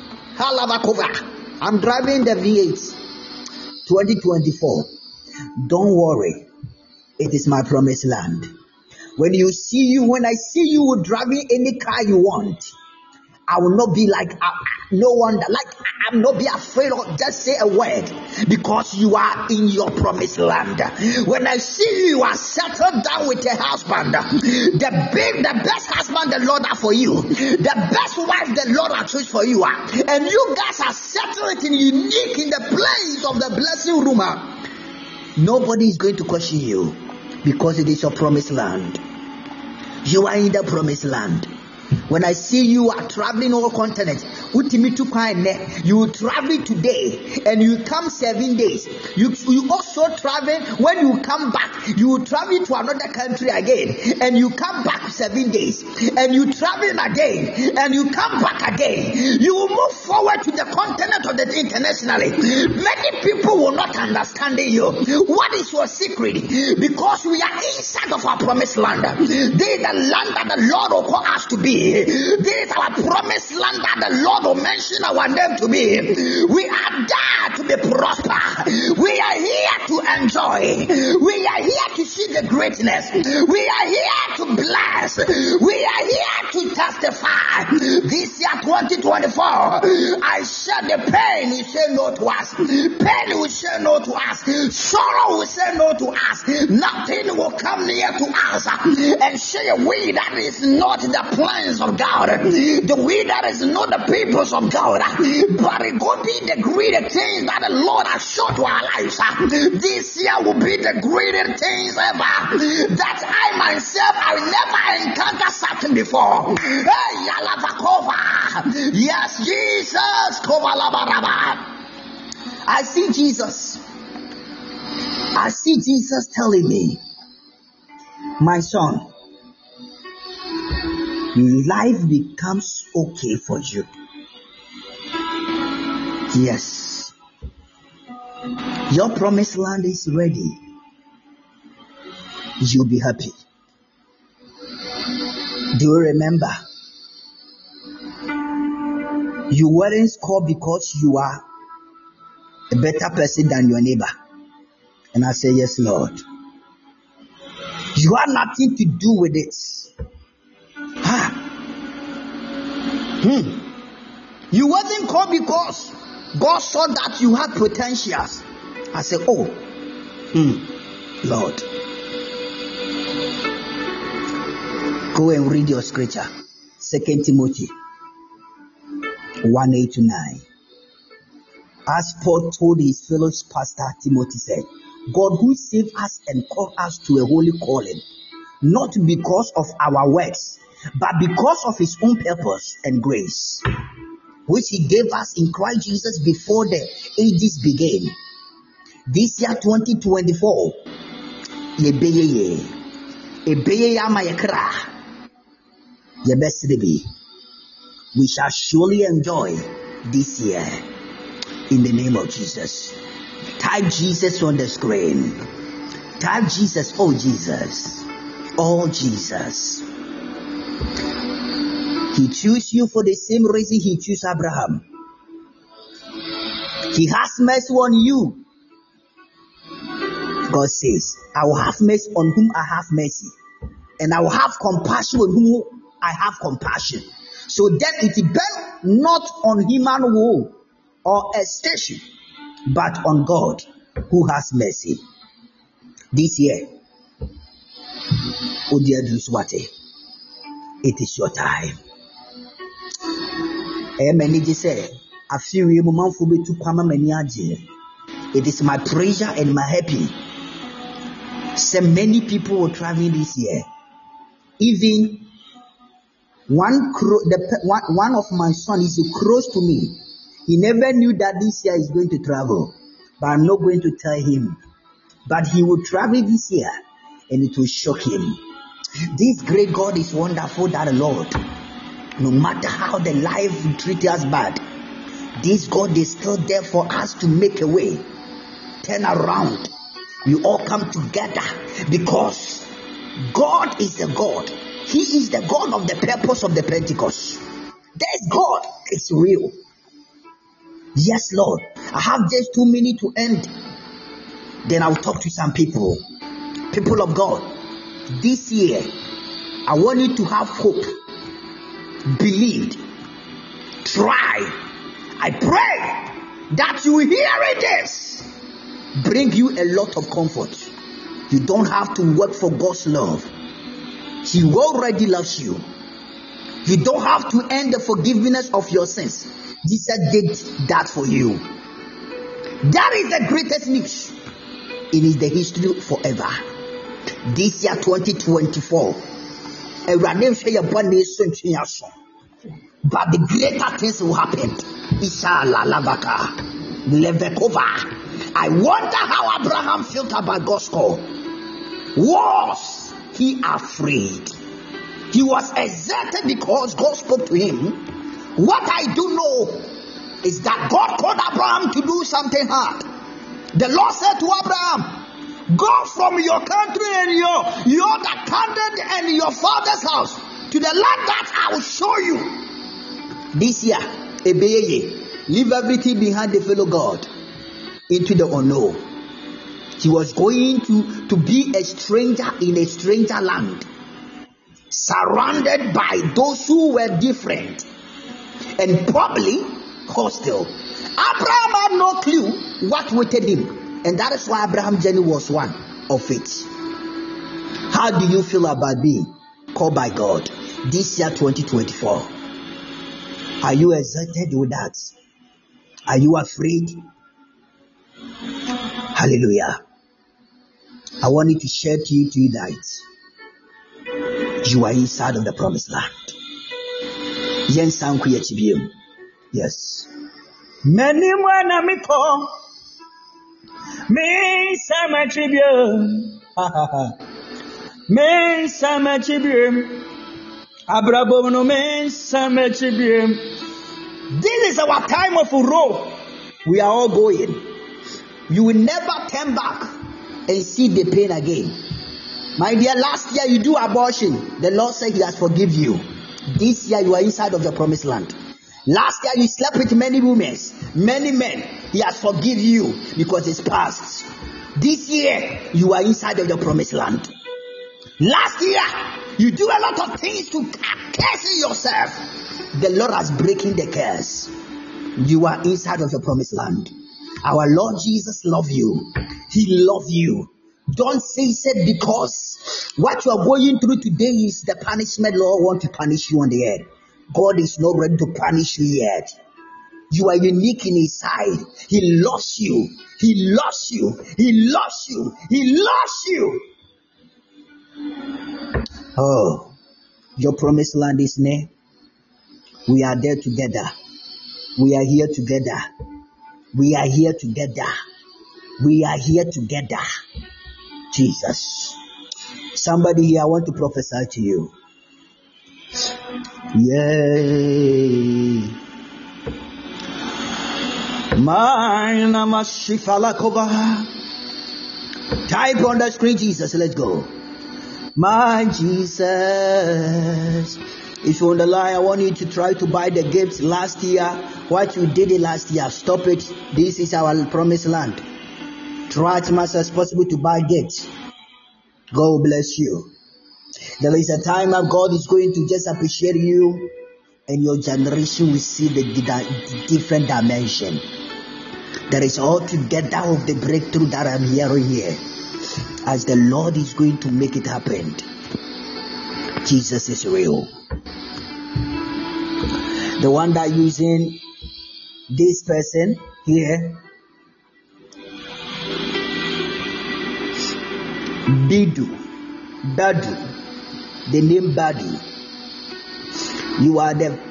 [SPEAKER 2] I'm driving the V eight twenty twenty-four. Don't worry, it is my promised land. When you see you, when I see you driving any car you want, I will not be like uh, no wonder, like I'm not be afraid of just say a word because you are in your promised land. When I see you, you are settled down with a husband, the big, the best husband the Lord has for you, the best wife the Lord has chosen for you, and you guys are settled in unique in the place of the blessing room. Nobody is going to question you because it is your promised land. You are in the promised land. When I see you are traveling all continents, you will travel today and you come seven days. You, you also travel, when you come back, you will travel to another country again and you come back seven days and you travel again and you come back again. You will move forward to the continent of the internationally. Many people will not understand you. What is your secret? Because we are inside of our promised land. This is the land that the Lord will call us to be. This is our promised land that the Lord will mention our name to be. We are there to be prosper. We are here to enjoy. We are here to see the greatness. We are here to bless. We are here to testify. This year twenty twenty-four, I said the pain will say no to us. Pain will say no to us. Sorrow will say no to us. Nothing will come near to us and say we that is not the plans of God. The we that is not the peoples of God. But it will be the greater things that the Lord has shown to our lives. This year will be the greater things ever. That I myself I never encountered something before. Hey, Yalavakova. Yes, Jesus. I see Jesus. I see Jesus telling me, my son, life becomes okay for you. Yes. Your promised land is ready. You'll be happy. Do you remember? You weren't called because you are a better person than your neighbor. And I say, yes, Lord. You have nothing to do with it. Ah. Hmm. You wasn't called because God saw that you had potentials. I said, oh, hmm, Lord. Go and read your scripture. Second Timothy one eight to nine. As Paul told his fellow pastor Timothy said, God who saved us and called us to a holy calling, not because of our works, but because of his own purpose and grace, which he gave us in Christ Jesus before the ages began. This year twenty twenty-four, yebeye ebeye amayekra yebesidebi. We shall surely enjoy this year in the name of Jesus. Type Jesus on the screen. Type Jesus. Oh Jesus. Oh Jesus. He chose you for the same reason he chose Abraham. He has mercy on you. God says, I will have mercy on whom I have mercy, and I will have compassion on whom I have compassion. So then it depends not on human will or a station, but on God who has mercy. This year, oh dear Duswate, it is your time. It is my pleasure and my happy. So many people were traveling this year. Even one, the, one, one of my sons is close to me. He never knew that this year is going to travel, but I'm not going to tell him. But he will travel this year, and it will shock him. This great God is wonderful, that Lord. No matter how the life treats us bad, this God is still there for us to make a way, turn around. We all come together because God is the God. He is the God of the purpose of the Pentecost. This God is real. Yes, Lord. I have just two minutes to end. Then I'll talk to some people. People of God, this year, I want you to have hope. Believe. Try. I pray that you hearing this bring you a lot of comfort. You don't have to work for God's love. He already loves you. You don't have to earn the forgiveness of your sins. Jesus did that for you. That is the greatest news. It is the history forever. This year twenty twenty-four, but the greater things will happen. Ishala Lavaka Levekova. I wonder how Abraham felt about God's call. Was he afraid? He was excited because God spoke to him. What I do know is that God called Abraham to do something hard. The Lord said to Abraham, go from your country and your, your candid and your father's house to the land that I will show you. This year, Ebeye, leave everything behind the fellow God into the unknown. He was going to, to be a stranger in a stranger land, surrounded by those who were different and probably hostile. Abraham had no clue what waited him, and that is why Abraham's journey was one of it. How do you feel about being called by God this year twenty twenty-four? Are you excited with that? Are you afraid? Hallelujah. I want you to share to you tonight. You are inside of the promised land. Yes. Many mwana miko me sama tribune. Me sama tribune. Abrabono me sama tribune. This is our time of row. We are all going. You will never turn back and see the pain again. My dear, last year you do abortion. The Lord said he has forgiven you. This year you are inside of the promised land. Last year you slept with many women, many men. He has forgiven you because it's past. This year you are inside of the promised land. Last year you do a lot of things to curse yourself. The Lord has breaking the curse. You are inside of the promised land. Our Lord Jesus loves you. He loves you. Don't face it, because what you are going through today is the punishment Lord wants to punish you on the earth. God is not ready to punish you yet. You are unique in His sight. He loves you. He loves you. He loves you. He loves you. Oh, your promised land is near. We are there together. We are here together. We are here together. We are here together. Jesus. Somebody here, I want to prophesy to you. Yay. Mine Namashifalakova. Type on the screen, Jesus. Let's go. My Jesus. If you're on the line, I want you to try to buy the gifts last year. What you did it last year, stop it. This is our promised land. Try as much as possible to buy gifts. God bless you. There is a time that God is going to just appreciate you, and your generation will see the different dimension. There is altogether of the breakthrough that I'm hearing here, as the Lord is going to make it happen. Jesus is real. The one that using this person here, Bidu, Badu, the name Badu. You are the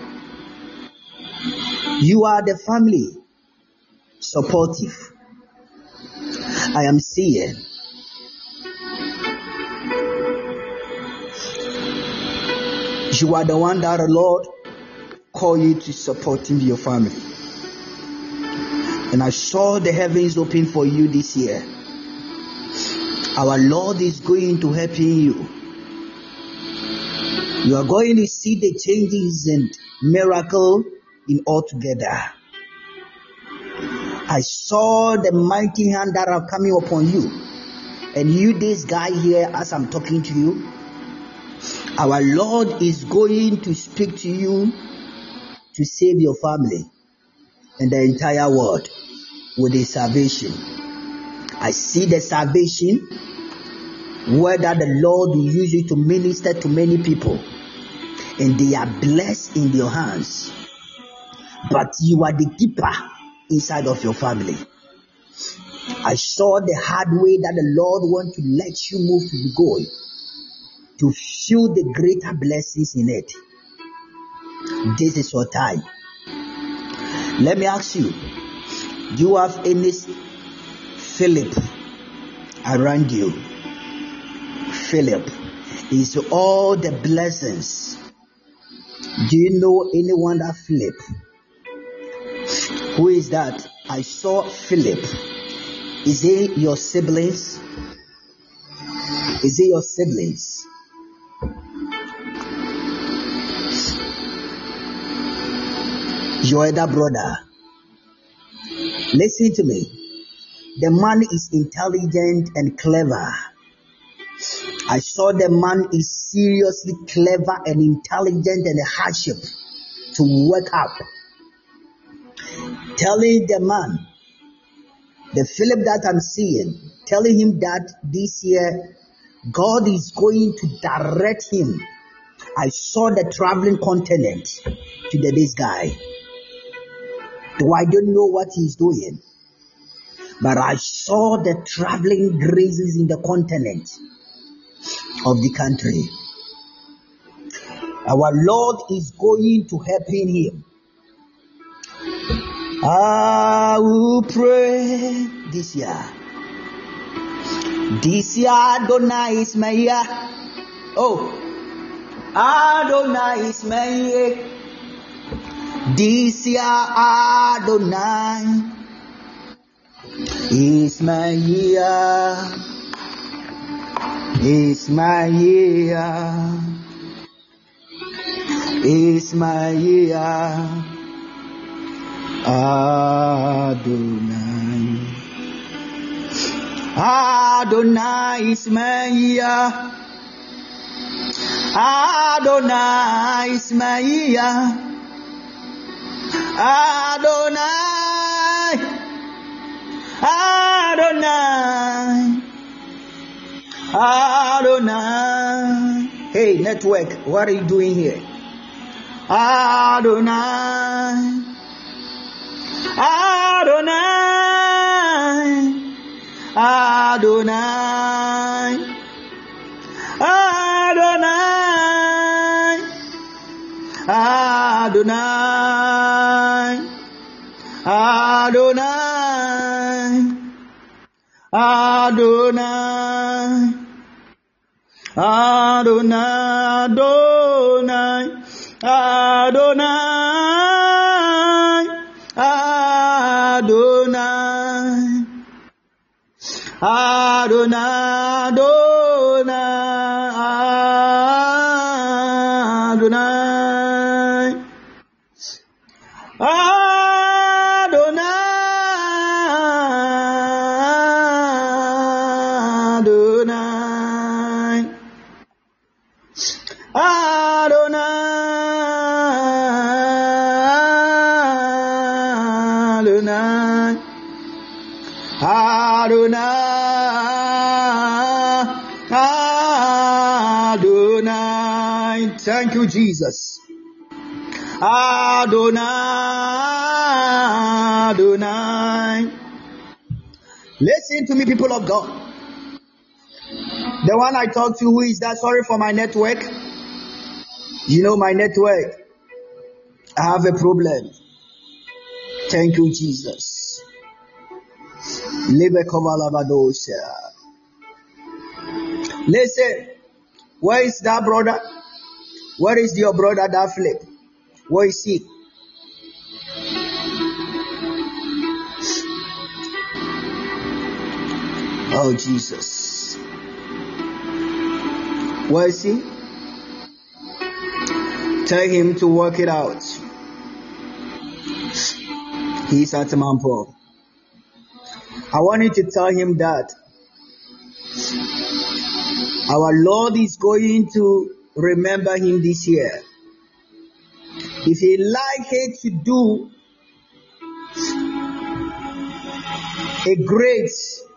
[SPEAKER 2] you are the family supportive. I am seeing. You are the one that the Lord called you to support in your family. And I saw the heavens open for you this year. Our Lord is going to help you. You are going to see the changes and miracle in all together. I saw the mighty hand that are coming upon you. And you, this guy here, as I'm talking to you, our Lord is going to speak to you to save your family and the entire world with His salvation. I see the salvation where that the Lord will use you to minister to many people, and they are blessed in your hands. But you are the keeper inside of your family. I saw the hard way that the Lord wants to let you move to the goal, to feel the greater blessings in it. This is your time. Let me ask you, do you have any Philip around you? Philip is all the blessings. Do you know anyone that Philip? Who is that? I saw Philip. Is it your siblings? Is it your siblings? Your elder brother. Listen to me. The man is intelligent and clever. I saw the man is seriously clever and intelligent and a hardship to work up. Telling the man, the Philip that I'm seeing, telling him that this year God is going to direct him. I saw the traveling continent to the, this guy. Though I don't know what he's doing, but I saw the traveling graces in the continent of the country. Our Lord is going to help him. I will pray this year. This year Adonai is my year. Oh, Adonai is my year. This year Adonai is my year. It's my year. It's my year. Adonai. Adonai is my year. Adonai is my year. Adonai. Adonai Adonai. Hey, network, what are you doing here? Adonai. Adonai. Adonai. Adonai. Adonai. Adonai. Adonai. Adonai. Adonai. Adonai. Adonai. Adonai. Adonai. Thank you, Jesus. Adonai. Adonai. Listen to me, people of God. The one I talk to, who is that? Sorry for my network. You know my network. I have a problem. Thank you, Jesus. Listen, where is that brother? Where is your brother that flip? Where is he? Oh, Jesus. Where is he? Tell him to work it out. He's at Mampo. I want you to tell him that our Lord is going to remember him this year. If he like it to do a great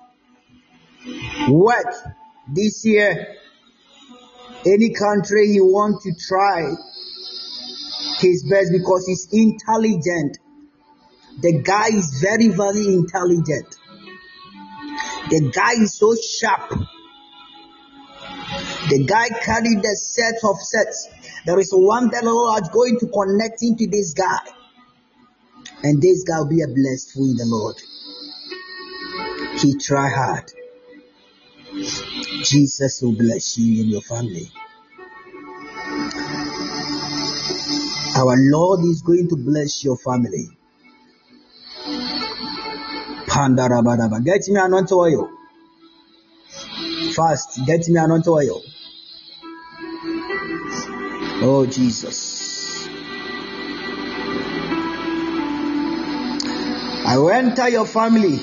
[SPEAKER 2] work this year, any country he wants to try his best because he's intelligent. The guy is very, very intelligent. The guy is so sharp. The guy carried a set of sets. There is one that the Lord is going to connect into this guy. And this guy will be a blessed fool in the Lord. He try hard. Jesus will bless you and your family. Our Lord is going to bless your family. Pandarabadaba. Get me anointed oil. Fast. Get me anointed oil. Oh, Jesus. I will enter your family.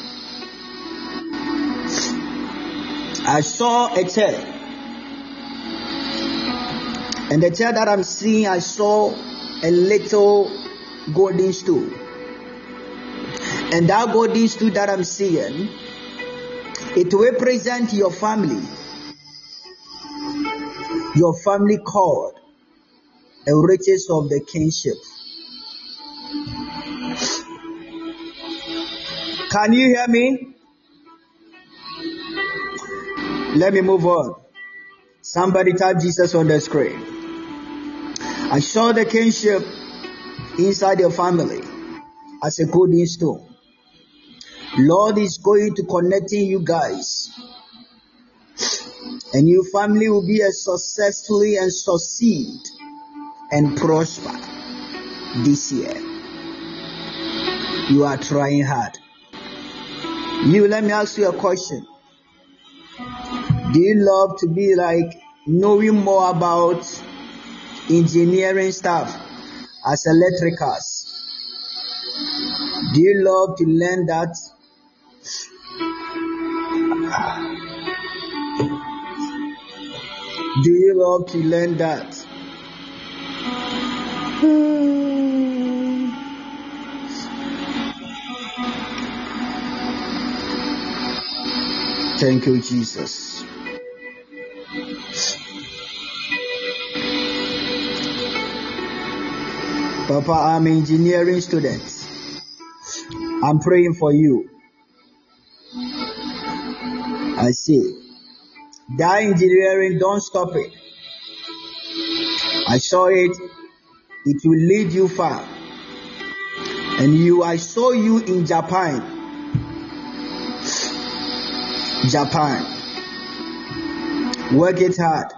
[SPEAKER 2] I saw a chair. And the chair that I'm seeing, I saw a little golden stool. And that golden stool that I'm seeing, it represents your family. Your family called the riches of the kingship. Can you hear me? Let me move on. Somebody type Jesus on the screen. I saw the kingship inside your family as a golden stone. Lord is going to connecting you guys. And your family will be a successfully and succeed and prosper this year. You are trying hard. You, let me ask you a question. Do you love to be like knowing more about engineering stuff as electricals? Do you love to learn that? Do you love to learn that? Thank you, Jesus. Papa, I'm an engineering student. I'm praying for you. I see. That engineering, don't stop it. I saw it. It will lead you far. And you, I saw you in Japan. Japan. Work it hard.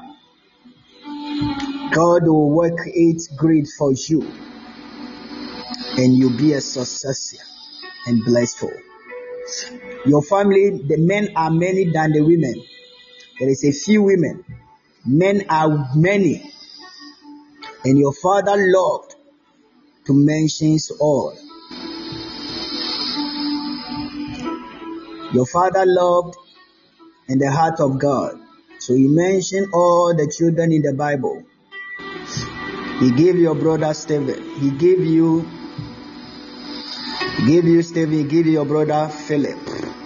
[SPEAKER 2] God will work it great for you. And you'll be a success and blessed. Your family, the men are many than the women. There is a few women. Men are many. And your father loved to mention all. Your father loved in the heart of God. So he mentioned all the children in the Bible. He gave your brother Stephen. He gave you, he gave you Stephen. He gave your brother Philip.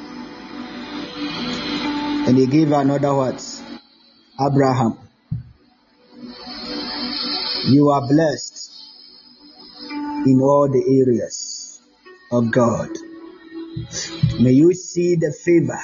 [SPEAKER 2] And he gave another what? Abraham. You are blessed in all the areas of God. May you see the favor.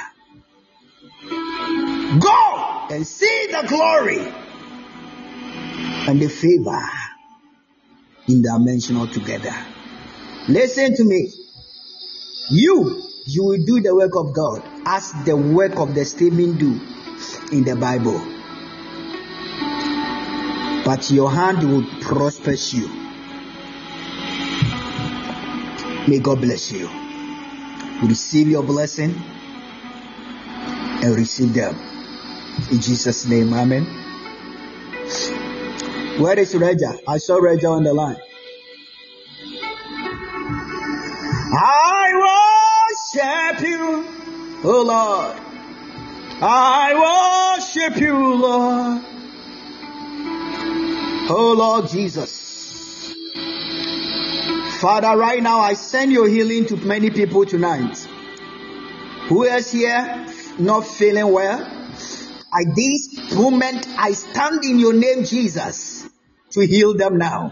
[SPEAKER 2] Go and see the glory and the favor in dimension altogether. Listen to me. You, you will do the work of God as the work of the Stephen do in the Bible. But your hand will prosper you. May God bless you. Receive your blessing and receive them. In Jesus' name, amen. Where is Regia? I saw Regia on the line. I worship you, oh Lord. I worship you, Lord. Oh Lord Jesus. Father, right now I send your healing to many people tonight. Who is here not feeling well? At this moment, I stand in your name, Jesus, to heal them now.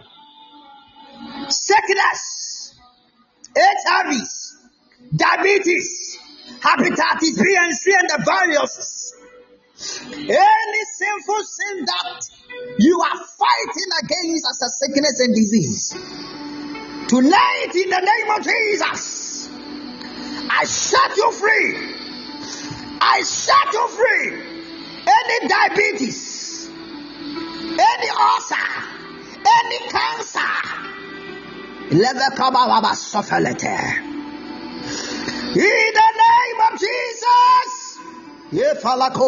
[SPEAKER 2] Sickness, H I V, diabetes, hepatitis B and C and the viruses. Any sinful sin that you are fighting against as a sickness and disease. Tonight, in the name of Jesus, I set you free. I set you free. Any diabetes, any ulcer, any cancer, let come out suffer letter. In the name of Jesus, in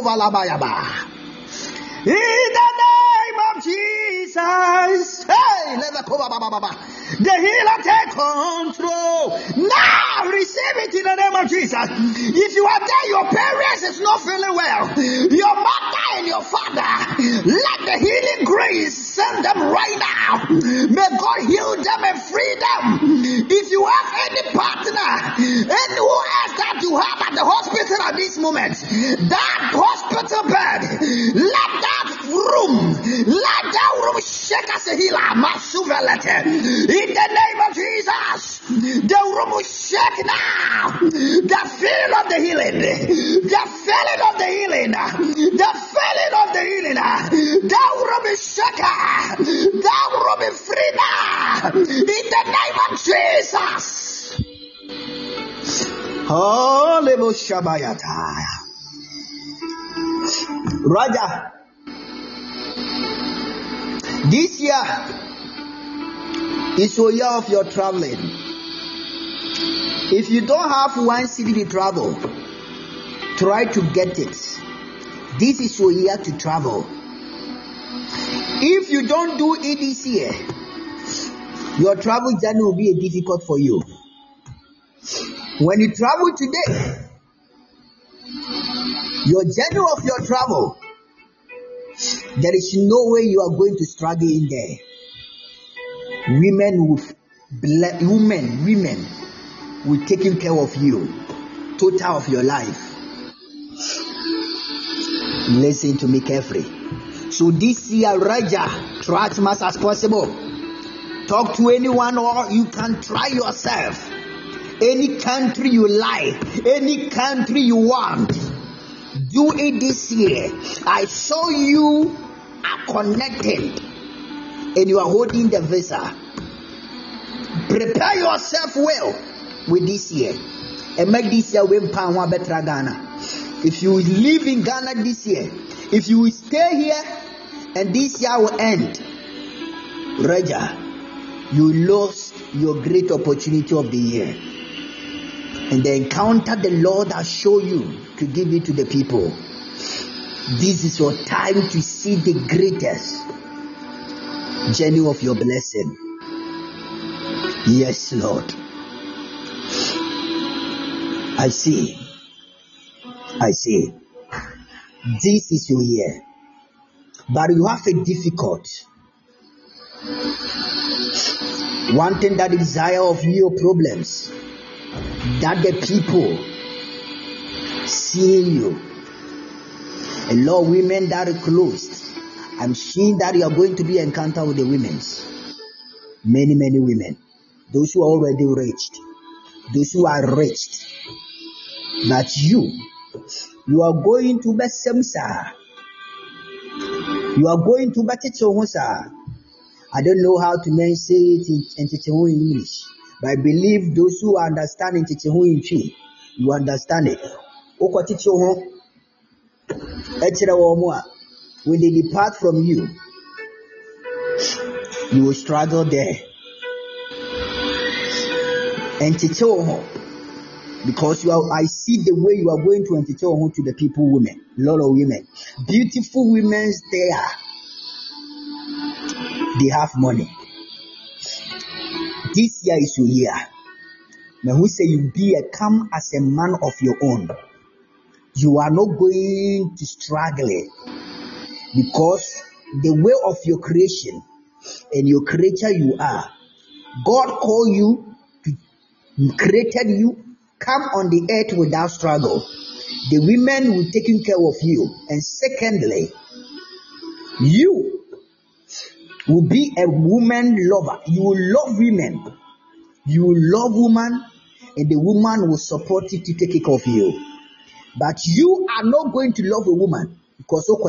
[SPEAKER 2] the name of Jesus, hey, let come. The healer take control. Now receive it in the name of Jesus. If you are there, your parents is not feeling well, your mother and your father, let the healing grace send them right now. May God heal them and free them. If you have any partner, anyone else that you have at the hospital at this moment, that hospital bed, let that room, let that room shake as a healer. In the name of Jesus, the room will shake now. The feeling of the healing, the feeling of the healing, the feeling of the healing. That room is shaken. That room is free now. In the name of Jesus. Holy Shabayata. Raja, this year is a year of your traveling. If you don't have one city to travel, try to get it. This is your year to travel. If you don't do it this year, your travel journey will be difficult for you. When you travel today, your journey of your travel, there is no way you are going to struggle in there. Women will, women, women will taking care of you, total of your life. Listen to me carefully. So this year, Raja, try as much as possible. Talk to anyone, or you can try yourself. Any country you like, any country you want, do it this year. I saw you are connected and you are holding the visa. Prepare yourself well with this year and make this year win pound better Ghana. If you live in Ghana this year, if you will stay here and this year will end, Raja, you lost your great opportunity of the year. And the encounter the Lord has shown you to give it to the people. This is your time to see the greatest journey of your blessing. Yes, Lord. I see. I see. This is your year. But you have a difficult. One thing that desire of your problems, that the people seeing you. A lot of women that are closed. I'm seeing that you are going to be encounter with the women. Many, many women. Those who are already rich. Those who are rich. That you, you are going to be semsa. You are going to be techohosa. I don't know how to say it in, in English. But I believe those who understand in Chichehu in Chi, you understand it. Oko Chichehu, Echira Womua, when they depart from you, you will struggle there. And Chichehu, because you are, I see the way you are going to Chichehu to the people, women, a lot of women, beautiful women there. They have money. This year is your year. Now who say you be a come as a man of your own. You are not going to struggle because the way of your creation and your creator you are. God called you, to, created you, come on the earth without struggle. The women will take care of you. And secondly, you will be a woman lover. You will love women. You will love woman, and the woman will support you to take care of you. But you are not going to love a woman because and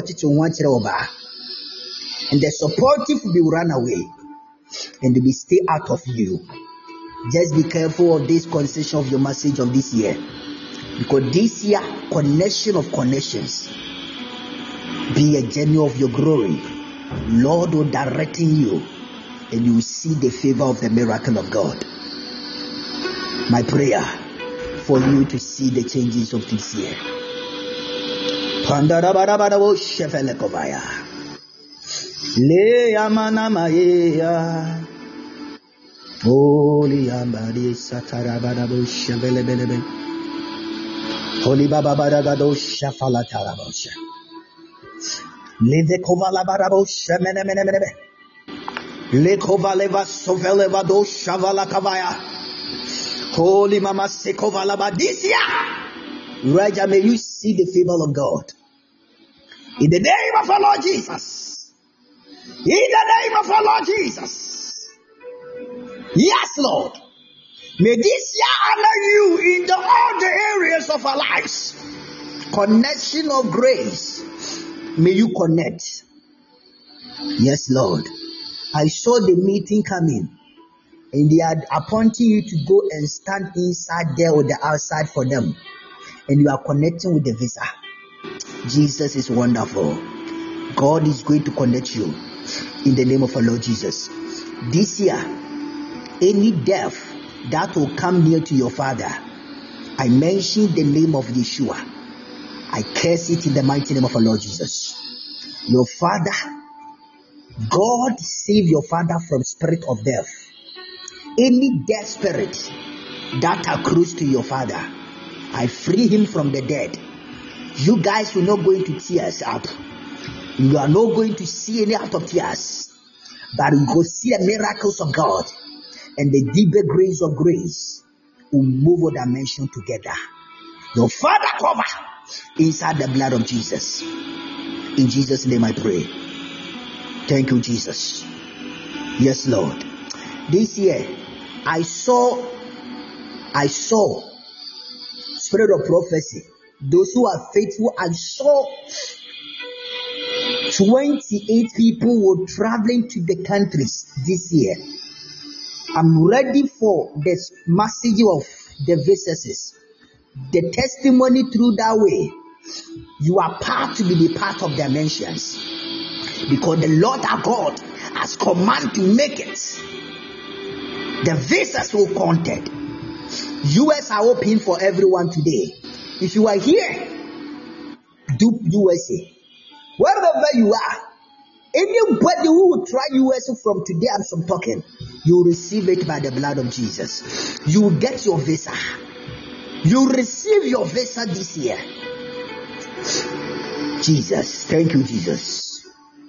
[SPEAKER 2] the supportive will run away and they will stay out of you. Just be careful of this conversation of your message of this year, because this year connection of connections be a journey of your glory. Lord will directing you, and you will see the favor of the miracle of God. My prayer for you to see the changes of this year. Holy Baba Baragado Shafala Tarabosha. Leve kovala barabo shemene mene mene. Le kovaleva soveleva do shavala kavaya. Holy Mama Sekovala Badisia. Raja, may you see the favor of God. In the name of our Lord Jesus. In the name of our Lord Jesus. Yes, Lord. May this year honor you in the, all the areas of our lives. Connection of grace. May you connect. Yes, Lord. I saw the meeting coming, and they are appointing you to go and stand inside there or the outside for them, and you are connecting with the visa. Jesus is wonderful. God is going to connect you in the name of our Lord Jesus. This year, any death that will come near to your father, I mention the name of Yeshua. I curse it in the mighty name of our Lord Jesus. Your father, God save your father from spirit of death. Any death spirit that accrues to your father, I free him from the dead. You guys will not go into tears up. You are not going to see any out of tears, but you go see the miracles of God, and the deeper grace of grace will move a dimension together. Your father cover inside the blood of Jesus. In Jesus' name I pray. Thank you, Jesus. Yes, Lord. this year, I saw, I saw spirit of prophecy. Those who are faithful, I saw twenty-eight people were traveling to the countries this year. I'm ready for this message of the visitors. The testimony through that way. You are part to be the part of dimensions. Because the Lord our God has commanded to make it. The visas will counted. U S are open for everyone today. If you are here, do U S A. Wherever you are, anybody who will try U S A from today as I'm talking, you will receive it by the blood of Jesus. You will get your visa. You will receive your visa this year. Jesus, thank you, Jesus.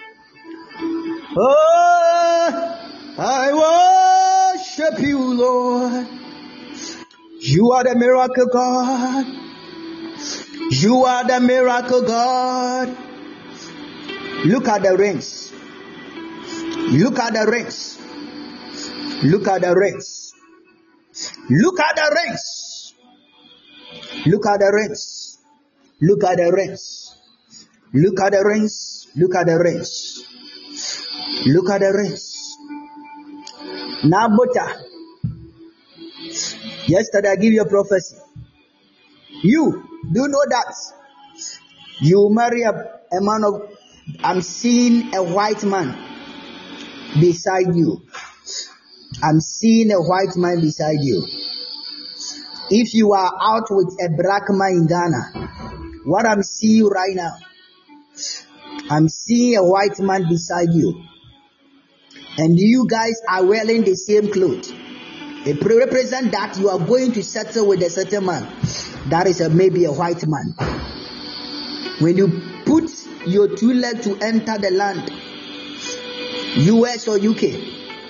[SPEAKER 2] Oh, I worship you, Lord. You are the miracle God. You are the miracle God. Look at the rings. Look at the rings. Look at the rings. Look at the rings. Look at the rings. Look at the rings. Look at the rings. Look at the rings. Look at the rings. Now, Buddha. Yesterday I give you a prophecy. You do you know that you marry a, a man of. I'm seeing a white man beside you. I'm seeing a white man beside you. If you are out with a black man in Ghana, what I'm seeing right now, I'm seeing a white man beside you. And you guys are wearing the same clothes. It represents that you are going to settle with a certain man. That is a, maybe a white man. When you put your two legs to enter the land, U S or U K,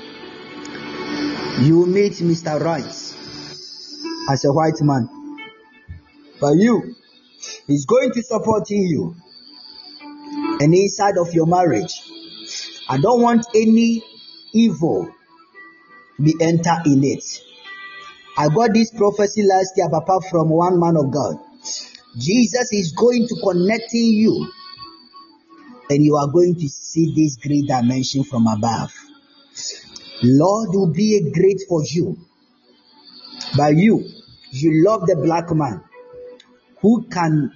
[SPEAKER 2] you will meet Mister Right as a white man. But you, he's going to support you. And inside of your marriage, I don't want any evil be enter in it. I got this prophecy last year, Papa, from one man of God. Jesus is going to connect you, and you are going to see this great dimension from above. Lord will be a great for you. But you, you love the black man who can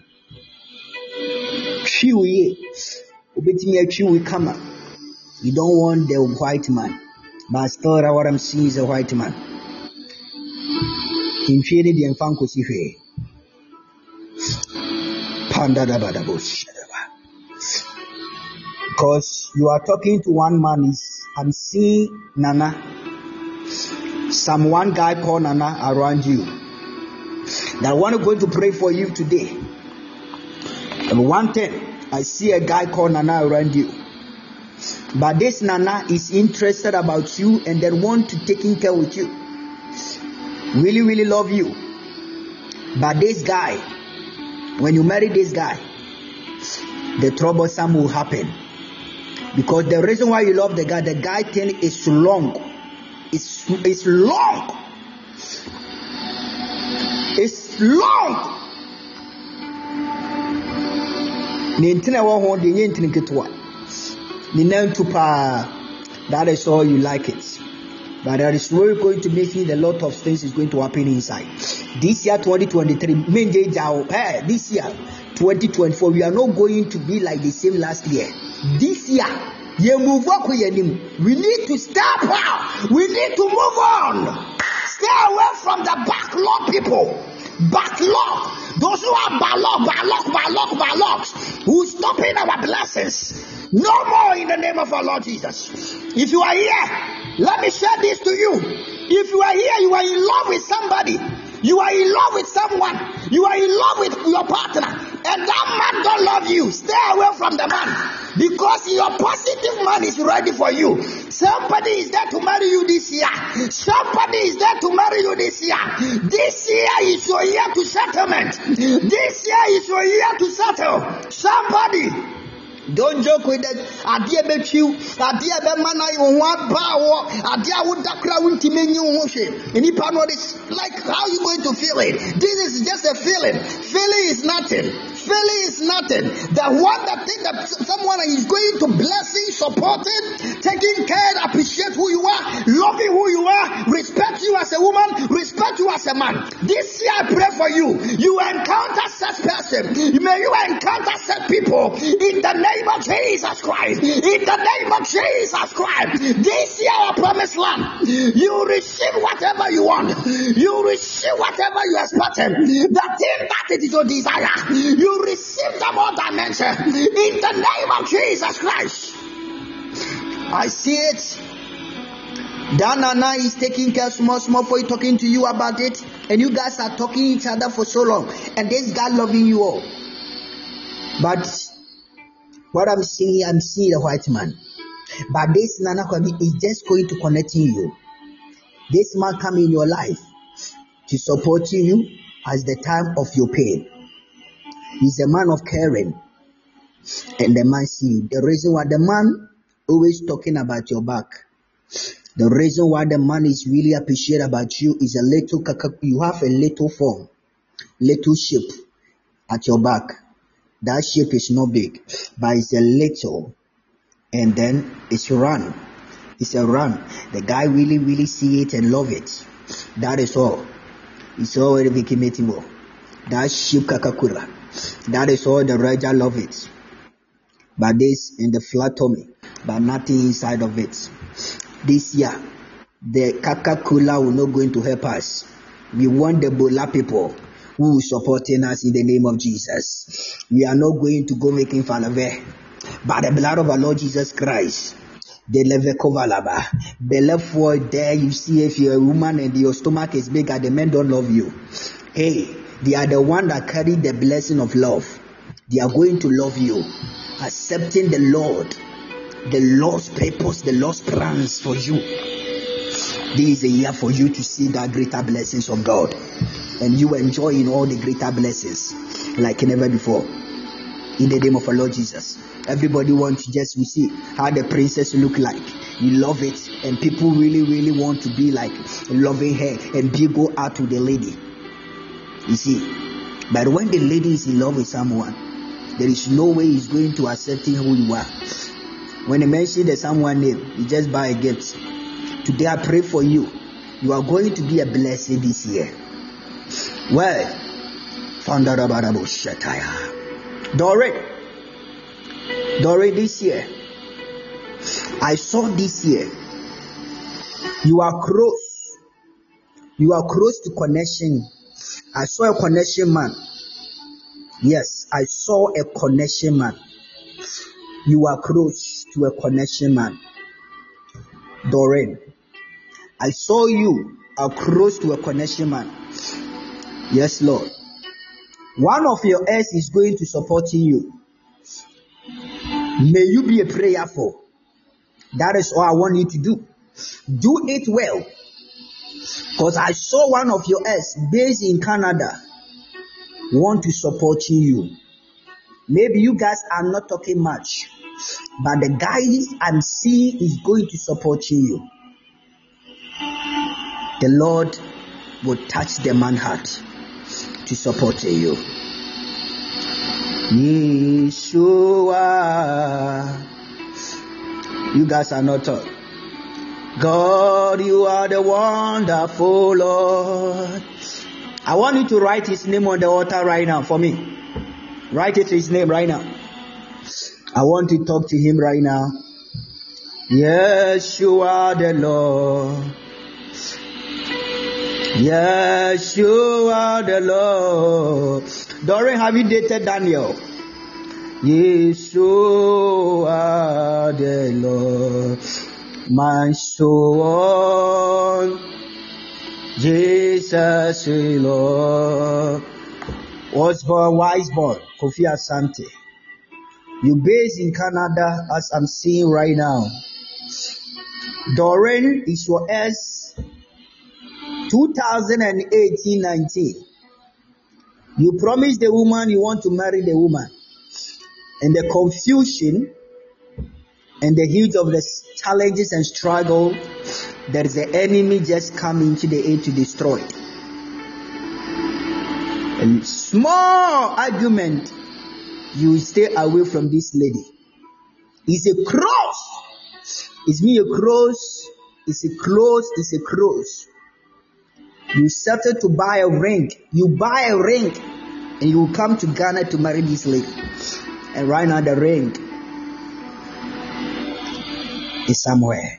[SPEAKER 2] chew ye. You don't want the white man. But still, what I'm seeing is a white man. Because you are talking to one man, is I'm seeing Nana. Some one guy called Nana around you. That I want to go to pray for you today. And one thing, I see a guy called Nana around you. But this Nana is interested about you and then want to take care with you. Really, really love you. But this guy, when you marry this guy, the troublesome will happen. Because the reason why you love the guy, the guy thing is long. It's, it's long. It's long. That is all you like it. But there is really going to make you a lot of things is going to happen inside. This year twenty twenty-three, this year twenty twenty-four, we are not going to be like the same last year. This year, we need to step out. We need to move on. Stay away from the backlog people. Backlog. Those who are backlog, backlog, backlog, backlog, who stopping our blessings. No more in the name of our Lord Jesus. If you are here, let me share this to you. If you are here, you are in love with somebody. You are in love with someone. You are in love with your partner. And that man don't love you. Stay away from the man. Because your positive man is ready for you. Somebody is there to marry you this year. Somebody is there to marry you this year. This year is your year to settlement. This year is your year to settle. Somebody. Don't joke with it. Adia bet you, Adia Bemana, you want power, Adia would dakra winti menu motion. And you know this, like how you going to feel it? This is just a feeling. Feeling is nothing. Feeling is nothing. The one that think that someone is going to blessing, supporting, taking care, appreciate who you are, loving who you are, respect you as a woman, respect you as a man. This year I pray for you. You encounter such person. May you encounter such people in the name of Jesus Christ. In the name of Jesus Christ. This year our promised land. You receive whatever you want. You receive whatever you expect. The thing that it is your desire. You receive the more dimension. In the name of Jesus Christ. I see it. Danana is taking care small, small for you, talking to you about it, and you guys are talking each other for so long, and this guy loving you all. But what I'm seeing, I'm seeing a white man. But this Nana Kwame is just going to connect you. This man come in your life to support you at the time of your pain. He's a man of caring, and the man see you. The reason why the man always talking about your back. The reason why the man is really appreciate about you is a little, you have a little form, little shape at your back. That shape is not big, but it's a little, and then it's run. It's a run. The guy really, really see it and love it. That is all. It's all the Vikimetivo. That shape kakakura. That is all the Raja love it. But this in the flat tummy, but nothing inside of it. This year, the Coca-Cola will not going to help us. We want the Bola people who is supporting us in the name of Jesus. We are not going to go making fun of it. By the blood of our Lord Jesus Christ, the levekovalaba, the left for there you see if you're a woman and your stomach is bigger, the men don't love you. Hey, they are the one that carry the blessing of love. They are going to love you, accepting the Lord. The Lord's purpose, the Lord's plans for you. This is a year for you to see the greater blessings of God. And you enjoying all the greater blessings like never before. In the name of our Lord Jesus. Everybody wants to just we see how the princess look like. You love it. And people really, really want to be like loving her and be go out to the lady. You see. But when the lady is in love with someone, there is no way he's going to accept who you are. When you mention the someone name, you just buy a gift. Today I pray for you. You are going to be a blessing this year. Well, Doreen, Doreen, this year, I saw this year, you are close. You are close to connection. I saw a connection man. Yes, I saw a connection man. You are close to a connection man. Doreen, I saw you are close to a connection man. Yes, Lord. One of your heirs is going to support you. May you be a prayer for. That is all I want you to do. Do it well. Because I saw one of your heirs based in Canada want to support you. Maybe you guys are not talking much, but the guy I'm seeing is going to support you. The Lord will touch the man's heart to support you. Yeshua. You guys are not talking. God, you are the wonderful Lord. I want you to write his name on the altar right now for me. Write it his name right now. I want to talk to him right now. Yes, you are the Lord. Yes, you are the Lord. Doreen, have you dated Daniel? Yes, you are the Lord. My soul, Jesus, Lord. Was born, wise born, Kofi Asante. You based in Canada, as I'm seeing right now. Doreen is your S twenty eighteen nineteen. You promised the woman you want to marry the woman. in the confusion and the heat of the challenges and struggle, there is the enemy just coming into the aid to destroy. A small argument, you stay away from this lady. It's a cross. It's me a cross. It's a cross. It's a cross. You started to buy a ring. You buy a ring, and you will come to Ghana to marry this lady. And right now the ring is somewhere.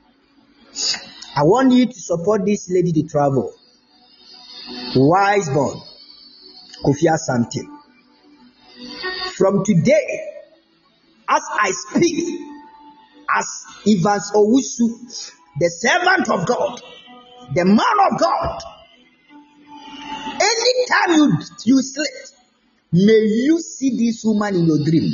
[SPEAKER 2] I want you to support this lady to travel. Wiseborn, Kofi Asante. From today, as I speak, as Evans Owusu, the servant of God, the man of God, anytime you, you sleep, may you see this woman in your dream.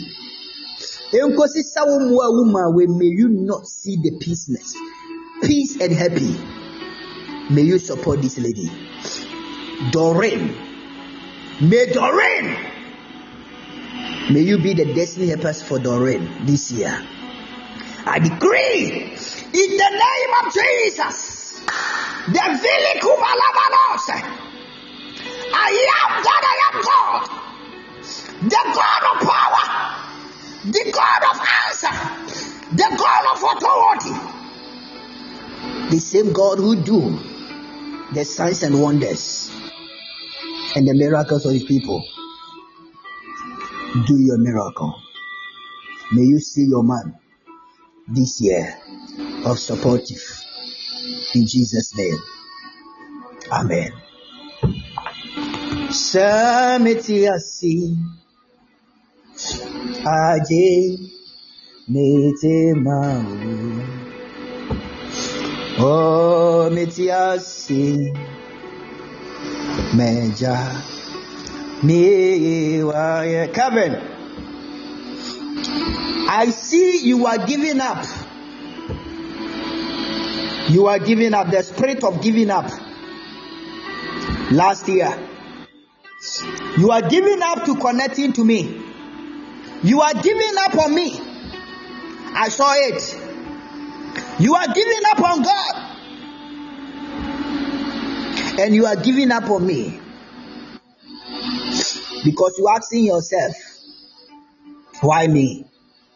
[SPEAKER 2] May you not see the peaceness, peace and happy. May you support this lady. Doreen. May Doreen. May you be the destiny helpers for Doreen this year. I decree in the name of Jesus, the Vili Kumalavanos, I am that I am God, the God of power, the God of answer, the God of authority, the same God who do the signs and wonders and the miracles of his people. Do your miracle. May you see your man this year of supportive. In Jesus' name. Amen. Samitiasi Aje Metemau Oh Mitiasi Meja Me Kevin, I see you are giving up. You are giving up. The spirit of giving up. Last year, you are giving up to connecting to me. You are giving up on me. I saw it. You are giving up on God. And you are giving up on me. Because you are asking yourself, why me?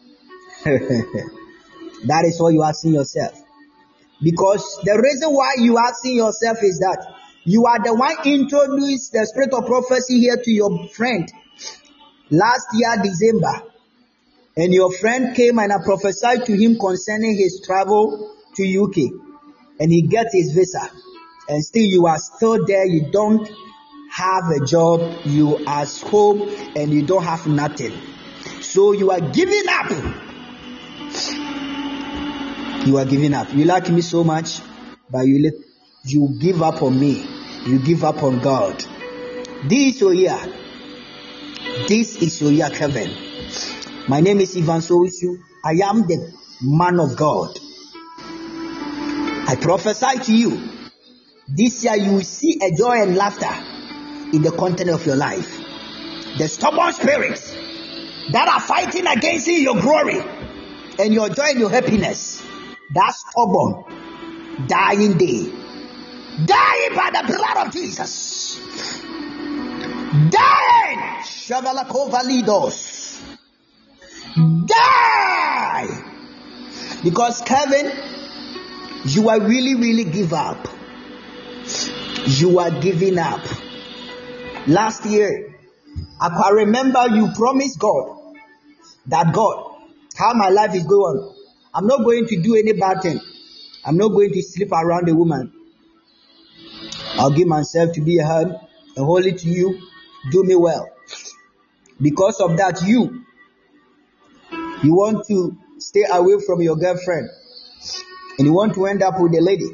[SPEAKER 2] That is what you are asking yourself. Because the reason why you are asking yourself is that you are the one introduced the spirit of prophecy here to your friend last year, December. And your friend came and I prophesied to him concerning his travel to U K. And he gets his visa. And still you are still there. You don't have a job, you are home, and you don't have nothing. So you are giving up. You are giving up. You like me so much, but you let, you give up on me. You give up on God. This is your year. This is your year, Kevin. My name is Ivan Sowisu. I am the man of God. I prophesy to you. This year you will see a joy and laughter in the content of your life. The stubborn spirits that are fighting against you, your glory and your joy and your happiness, that stubborn dying day, dying by the blood of Jesus, dying, Shavalakova die, because Kevin, you are really, really give up. You are giving up. Last year, I can remember you promised God that God, how my life is going on, I'm not going to do any bad thing. I'm not going to sleep around a woman. I'll give myself to be a hand and holy to you. Do me well. Because of that, you, you want to stay away from your girlfriend and you want to end up with a lady.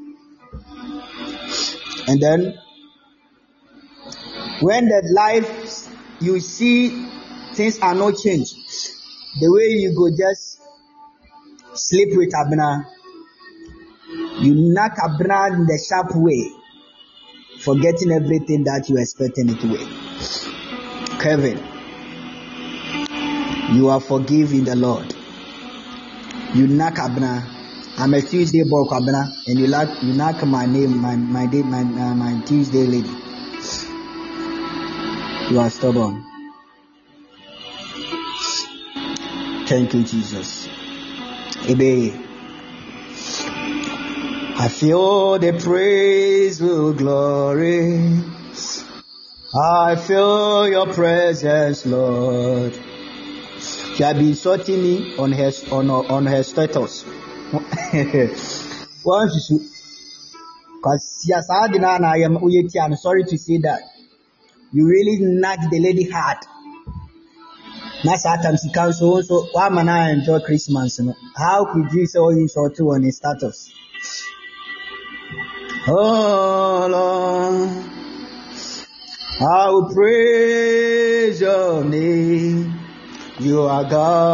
[SPEAKER 2] And then when the life you see things are not changed, the way you go just sleep with Abner, you knock Abner in the sharp way, forgetting everything that you expected it to be. Kevin, You are forgiven the Lord. You knock Abna. I'm a Tuesday boy, Abna, and you like you knock my name, my my day, my uh, my Tuesday lady. You are stubborn. Thank you, Jesus. Ebe. I feel the praise, will glory. I feel your presence, Lord. She had been sorting me on her on on her status. Once you, because yes, I am. I'm sorry to say that you really knocked the lady hard. That's how times you can so so. Why man I enjoy Christmas? You know? How could you say all you saw too on his status? Oh Lord, I will praise your name. You are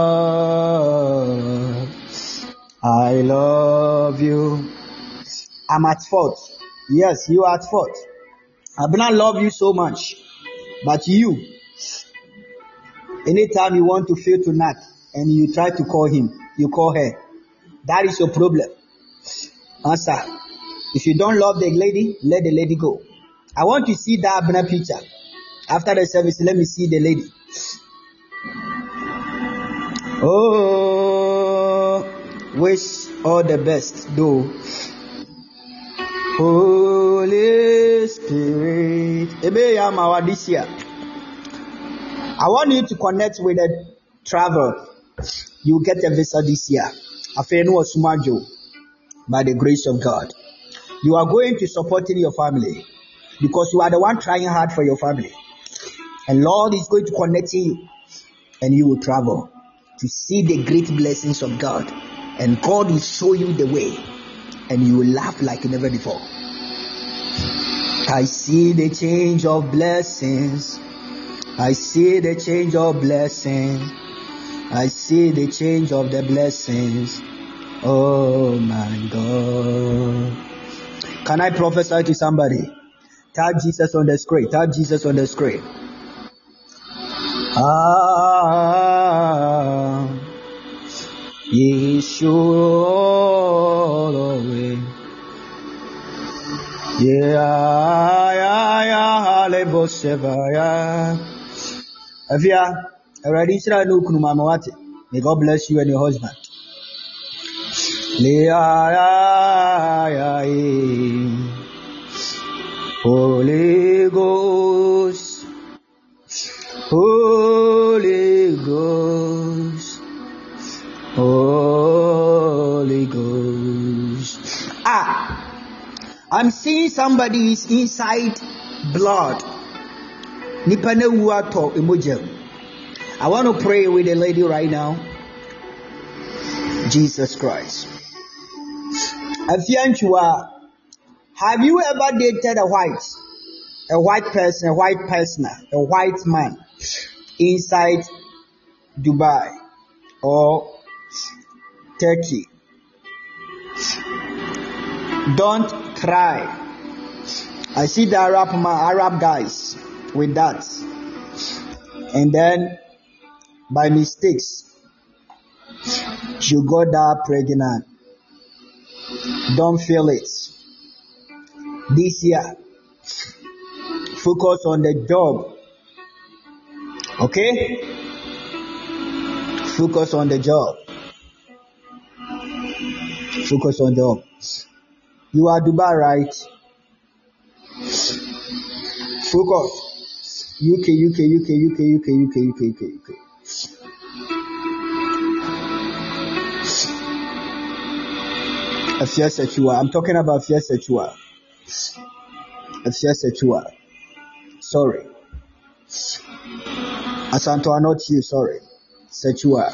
[SPEAKER 2] God. I love you. I'm at fault. Yes, you are at fault. I do not love you so much, but you. Anytime you want to fail to knock and you try to call him, you call her. That is your problem. Answer. If you don't love the lady, let the lady go. I want to see that Abner picture. After the service, let me see the lady. Oh, wish all the best, though. Holy Spirit. I want you to connect with a travel. You get a visa this year. By the grace of God. You are going to support in your family because you are the one trying hard for your family. And Lord is going to connect you and you will travel to see the great blessings of God. And God will show you the way and you will laugh like never before. I see the change of blessings. I see the change of blessings. I see the change of the blessings. Oh my God. Can I prophesy to somebody? Tap Jesus on the screen. Tap Jesus on the screen. Ah, Yeshua. Yeah, yeah, yeah, Lebosevaya. Avia, already Israel no kunumamawati. May God bless you and your husband. Holy Ghost, Holy Ghost, Holy Ghost. Ah, I'm seeing somebody is inside blood. I want to pray with the lady right now. Jesus Christ. Have you ever dated a white, a white person, a white person, a white man inside Dubai or Turkey? Don't cry. I see the Arab Arab guys with that, and then by mistakes you got that pregnant. Don't feel it. This year, focus on the job. Okay? Focus on the job. Focus on the job. You are Dubai, right? Focus. U K, U K, U K, U K, U K, U K, U K, U K, U K. Afia Sechua. I'm talking about Afia Sechua. Afia Sechua. Sorry. Asanto are not you, sorry. Sechua.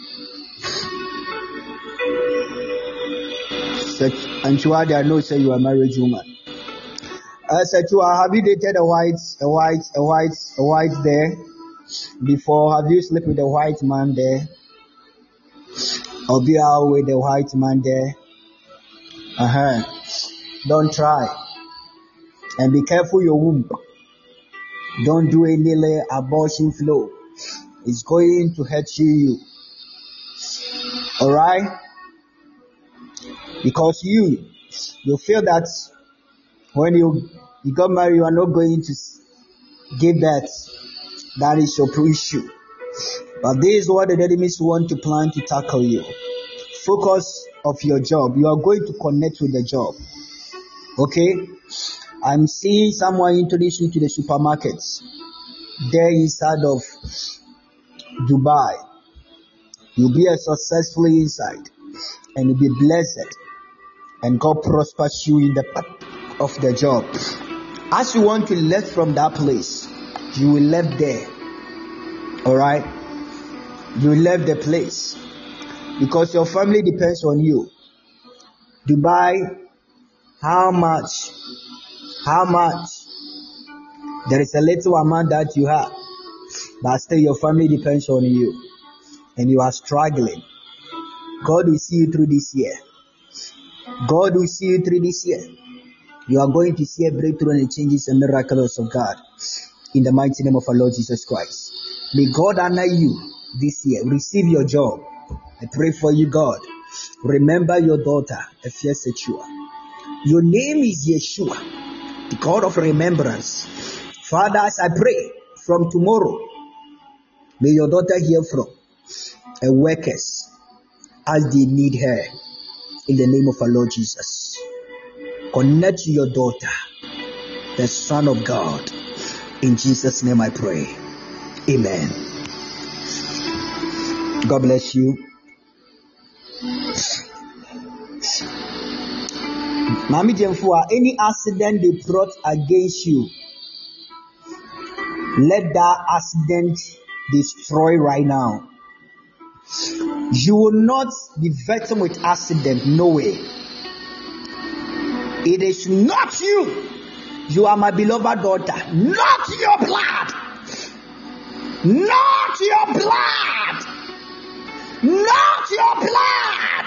[SPEAKER 2] Sech Anchua, they know say you are married woman. Uh, Sechua, have you dated a white, a white, a white, a white there before? Have you slept with a white man there? Or be out with a white man there? Uh-huh. Don't try. And be careful your womb. Don't do any abortion flow. is going to hurt you. Alright? Because you, you feel that when you, you got married, you are not going to give birth. That is your issue. But this is what the enemies want to plan to tackle you. Focus of your job. You are going to connect with the job. Okay? I'm seeing someone introduce you to the supermarkets there inside of Dubai. You'll be a successful inside and you'll be blessed and God prospers you in the path of the job. As you want to left from that place, you will left there. Alright? You left the place because your family depends on you. Dubai, how much? How much? There is a little amount that you have, but still your family depends on you, and you are struggling. God will see you through this year. God will see you through this year. You are going to see a breakthrough and the changes and miracles of God in the mighty name of our Lord Jesus Christ. May God honor you this year. Receive your job. I pray for you, God. Remember your daughter, Efia Sechua. Your name is Yeshua, the God of remembrance. Father, as I pray from tomorrow, may your daughter hear from her workers as they need her in the name of our Lord Jesus. Connect to your daughter, the Son of God. In Jesus' name I pray. Amen. God bless you. Mami Jemfua, any accident they brought against you, let that accident destroy right now. You will not be victim with accident, no way. It is not you. You are my beloved daughter, not your blood. Not your blood. Not your blood.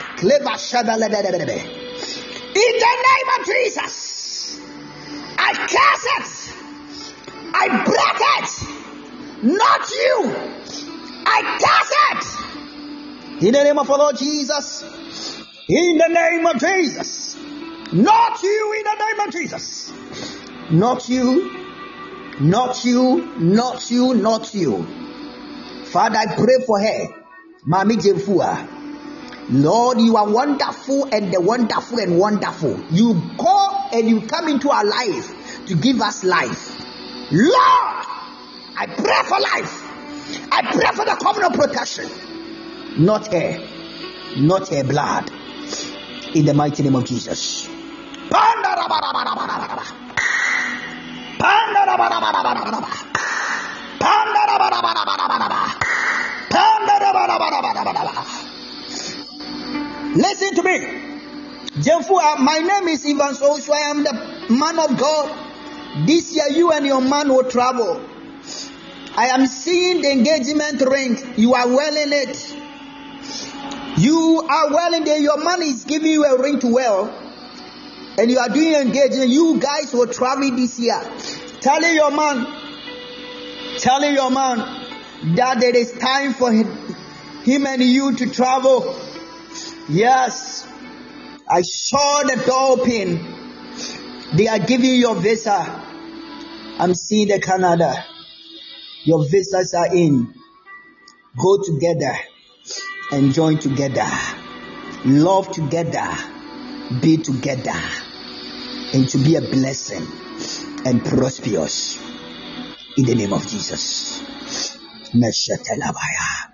[SPEAKER 2] In the name of Jesus, I curse it. I break it. Not you. I curse it. In the name of our Lord Jesus. In the name of Jesus. Not you. In the name of Jesus. Not you. Not you. Not you. Not you. Father, I pray for her. Mami Jemfua. Lord, you are wonderful and the wonderful and wonderful. You go and you come into our life to give us life. Lord, I pray for life. I pray for the covenant protection. Not her. Not her blood. In the mighty name of Jesus. Listen to me. Jemfua, my name is Ivan Soso. I am the man of God. This year you and your man will travel. I am seeing the engagement ring. You are well in it. You are well in there. Your man is giving you a ring to wear. And you are doing engagement. You guys will travel this year. Telling your man, telling your man that there is time for him, him and you to travel. Yes, I saw the door open. They are giving you your visa. I'm seeing the Canada. Your visas are in. Go together and join together. Love together. Be together. And to be a blessing and prosperous. In the name of Jesus. Meshetelabaya.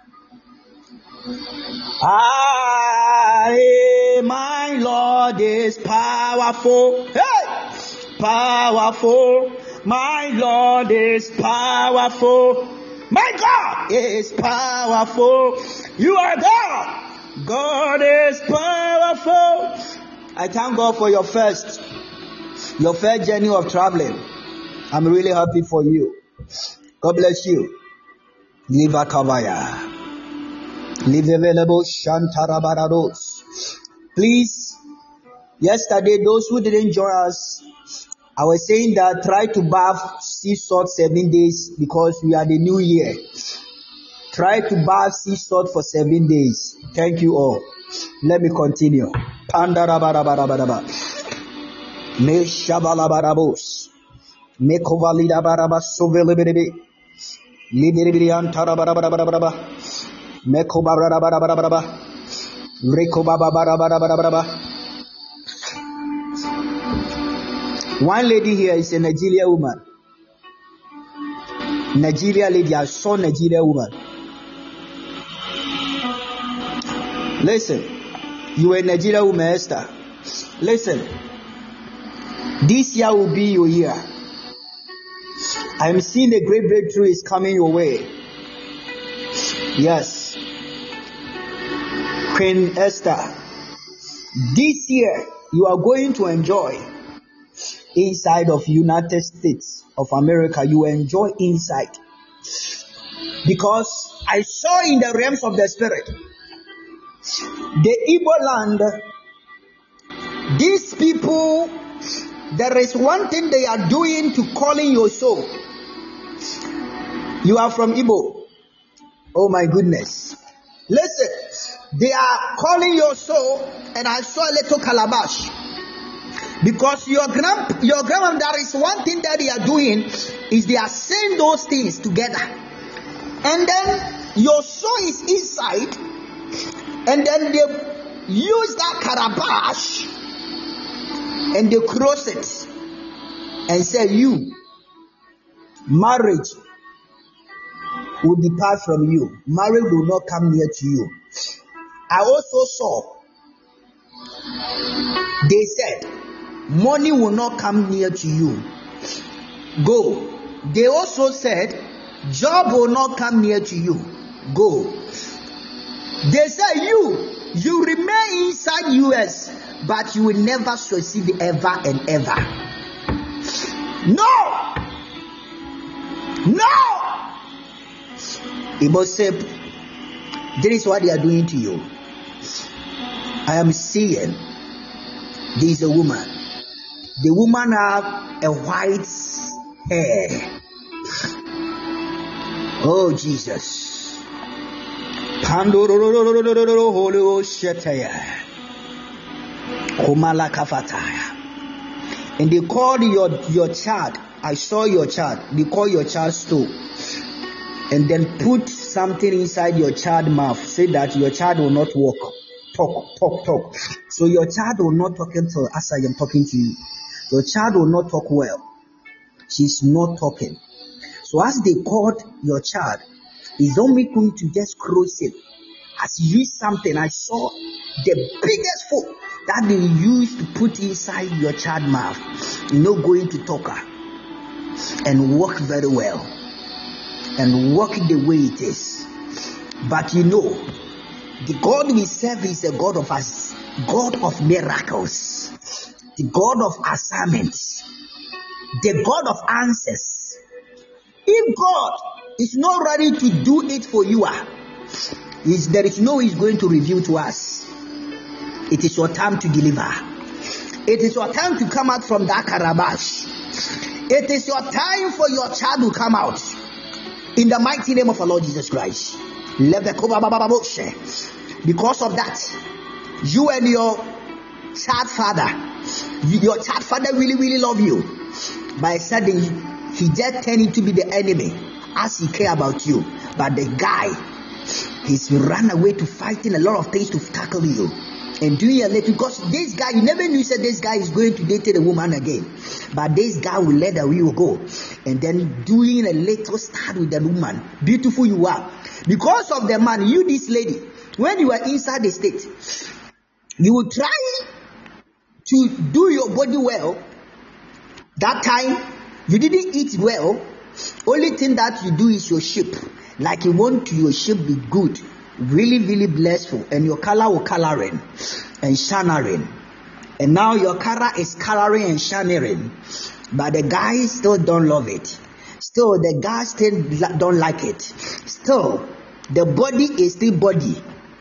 [SPEAKER 2] I, my Lord is powerful. Hey! Powerful. My Lord is powerful. My God is powerful. You are God. God is powerful. I thank God for your first, your first journey of traveling. I'm really happy for you. God bless you. Liva Kavaya. Live available Shantarabarados. Please, yesterday, those who didn't join us, I was saying that try to bath sea salt seven days because we are the new year. Try to bath sea salt for seven days. Thank you all. Let me continue. Pandarabarabarabara. Me shabalabarabos. Me kovalida baraba sovelibiri. Libirian tarabarabarabara. Me kobarabarabarabara. Rekobabarabarabara. One lady here is a Nigerian woman. Nigeria lady, I saw Nigeria woman. Listen, you are a Nigerian woman, Esther. Listen, this year will be your year. I am seeing a great breakthrough is coming your way. Yes, Queen Esther, this year you are going to enjoy inside of United States of America. You enjoy inside, because I saw in the realms of the spirit, the Igbo land, these people, there is one thing they are doing to calling your soul. You are from Igbo. Oh my goodness. Listen, they are calling your soul, and I saw a little calabash. Because your grand, your grandma, there is one thing that they are doing, is they are saying those things together. And then your soul is inside, and then they use that calabash and they cross it and say, you, marriage will depart from you. Marriage will not come near to you. I also saw, they said, money will not come near to you. Go. They also said, job will not come near to you. Go. They said, you, you remain inside U S, but you will never succeed ever and ever. No! No! Igbo said, this is what they are doing to you. I am seeing, there is a woman. The woman have a white hair. Oh Jesus. And they called your, your child. I saw your child. They call your child stool. And then put something inside your child's mouth. Say that your child will not walk. Talk, talk, talk. So your child will not talk until as I am talking to you. Your child will not talk well. She's not talking. So as they called your child, it's only going to just cross it. As you use something, I saw the biggest foot that they used to put inside your child's mouth. You're not going to talk her and walk very well and walk the way it is. But you know, the God we serve is a God of us, God of miracles, the God of assignments, the God of answers. If God is not ready to do it for you, is there is no way He's going to reveal to us. It is your time to deliver. It is your time to come out from that calabash. It is your time for your child to come out. In the mighty name of our Lord Jesus Christ. Because of that, you and your child father, your child father really, really love you. By suddenly, he just turned into be the enemy as he care about you. But the guy, he's run away to fighting a lot of things to tackle you. And doing a little, because this guy, you never knew said this guy is going to date a woman again. But this guy will let the will go. And then doing a little start with the woman. Beautiful you are. Because of the man, you this lady, when you are inside the state, you will try to do your body well. That time, you didn't eat well. Only thing that you do is your shape. Like you want your shape be good. Really, really blissful. And your color will coloring and shining. And now your color is coloring and shining. But the guy still don't love it. Still, the guy still don't like it. Still, the body is still body.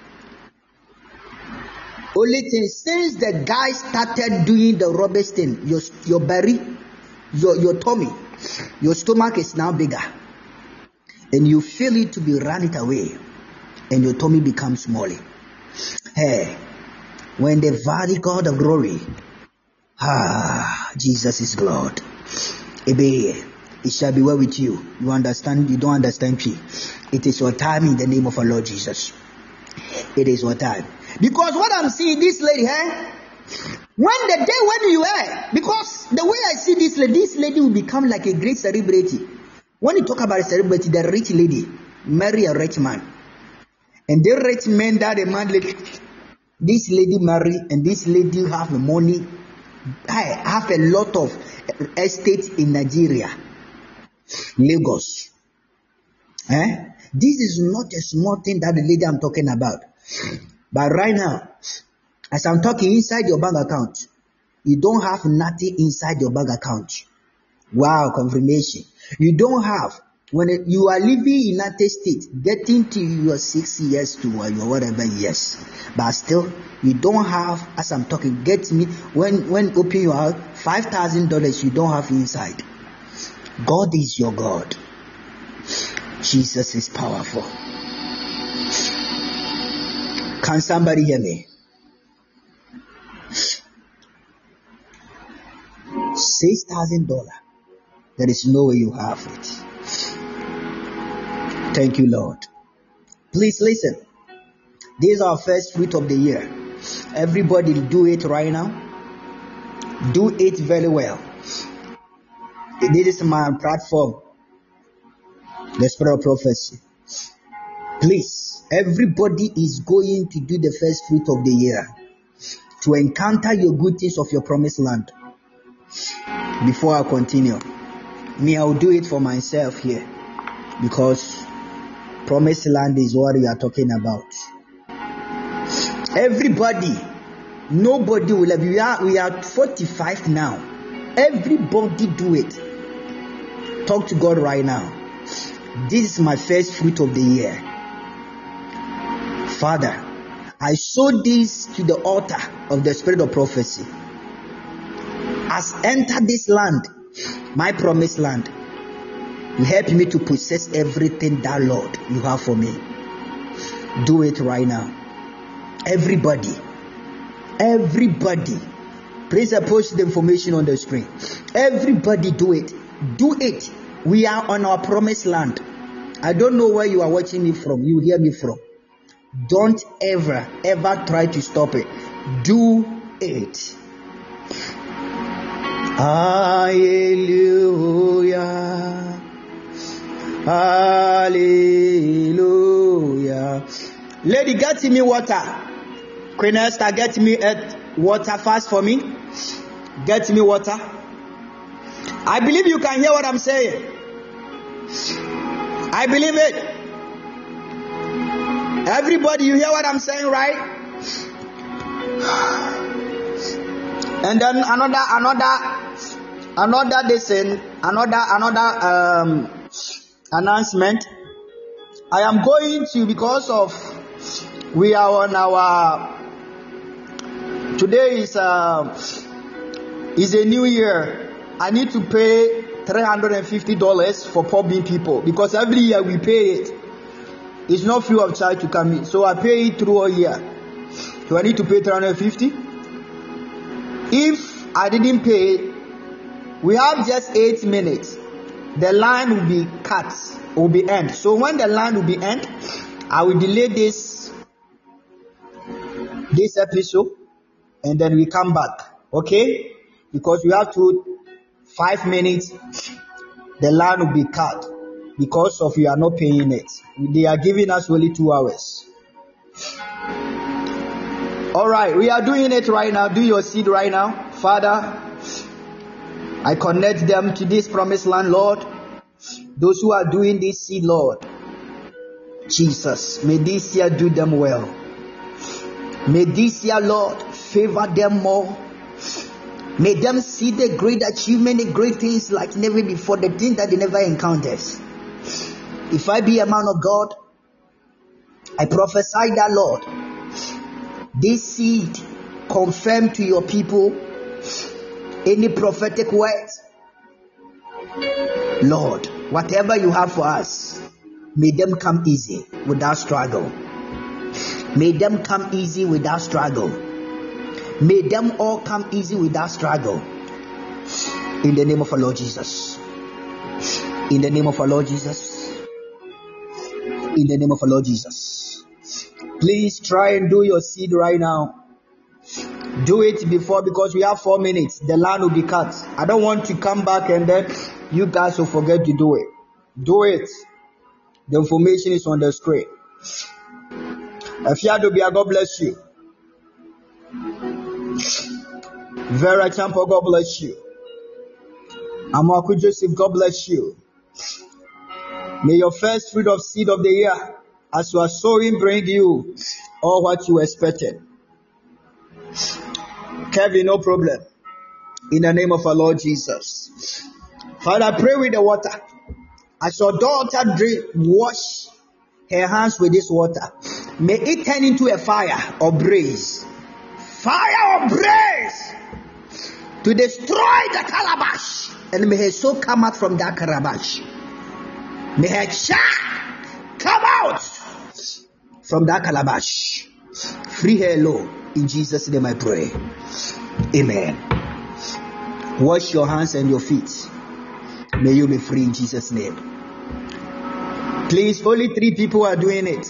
[SPEAKER 2] Only thing, since the guy started doing the rubbish thing, your, your belly, your, your tummy, your stomach is now bigger. and you feel it to be run it away, and your tummy becomes smaller. Hey, when the very God of glory, ah, Jesus is Lord. Ebe, it shall be well with you. You understand? You don't understand, P. It is your time in the name of our Lord Jesus. It is your time. Because what I'm seeing, this lady, eh? When the day when you are, because the way I see this lady, this lady will become like a great celebrity. When you talk about a celebrity, the rich lady marry a rich man. And the rich man that the man, this lady marry, and this lady have money, I have a lot of estate in Nigeria, Lagos. Eh? This is not a small thing that the lady I'm talking about. But right now, as I'm talking, inside your bank account, you don't have nothing inside your bank account. Wow, confirmation. You don't have, when it, you are living in United States, getting to your six years to your whatever years, but still, you don't have, as I'm talking, get me, when, when open your house, five thousand dollars you don't have inside. God is your God. Jesus is powerful. Can somebody hear me? Six thousand dollars. There is no way you have it. Thank you, Lord. Please listen. This is our first fruit of the year. Everybody do it right now. Do it very well. This is my platform, the Spirit of Prophecy. Please, everybody is going to do the first fruit of the year to encounter your good things of your promised land. Before I continue, me, I will do it for myself here, because promised land is what we are talking about. Everybody, nobody will have, we are, we are forty-five now. Everybody do it. Talk to God right now. This is my first fruit of the year. Father, I sow this to the altar of the Spirit of Prophecy. As enter this land, my promised land, you help me to possess everything that, Lord, you have for me. Do it right now. Everybody, everybody, please post the information on the screen. Everybody do it. Do it. We are on our promised land. I don't know where you are watching me from. You hear me from. Don't ever, ever try to stop it. Do it. Hallelujah. Hallelujah. Lady, get me water. Queen Esther, get me water fast for me. Get me water. I believe you can hear what I'm saying. I believe it. Everybody, you hear what I'm saying, right? And then another, another, another listen, another, another um, announcement. I am going to, because of we are on our. Today is uh, is a new year. I need to pay three hundred and fifty dollars for Poor Bean people, because every year we pay it. It's not free of charge to come in, so I pay it through a year. So I need to pay three hundred and fifty. If I didn't pay, we have just eight minutes. The line will be cut, will be end. So when the line will be end, I will delay this this episode, and then we come back. Okay? Because we have to five minutes. The line will be cut because of you are not paying it. They are giving us only two hours. All right, we are doing it right now. Do your seed right now. Father, I connect them to this promised land, Lord. Those who are doing this seed, Lord, Jesus, may this year do them well. May this year, Lord, favor them more. May them see the great achievement, the great things like never before, the things that they never encountered. If I be a man of God, I prophesy that, Lord, this seed confirm to your people any prophetic words. Lord, whatever you have for us, May them come easy without struggle. May them come easy without struggle. May them all come easy without struggle. In the name of our Lord Jesus. In the name of our Lord Jesus. In the name of our Lord Jesus. Please try and do your seed right now. Do it before, because we have four minutes. The line will be cut. I don't want to come back and then you guys will forget to do it. Do it. The information is on the screen. Afiadobia, God bless you. Vera Champo, God bless you. Amaku Joseph, God bless you. May your first fruit of seed of the year, as you are sowing, bring you all what you expected. Kevin, no problem. In the name of our Lord Jesus. Father, I pray with the water. As your daughter drink, wash her hands with this water. May it turn into a fire or blaze. Fire or blaze to destroy the calabash. And may her soul come out from that calabash. May her child come out from that calabash. Free her, Lord. In Jesus' name I pray. Amen. Wash your hands and your feet. May you be free in Jesus' name. Please, only three people are doing it.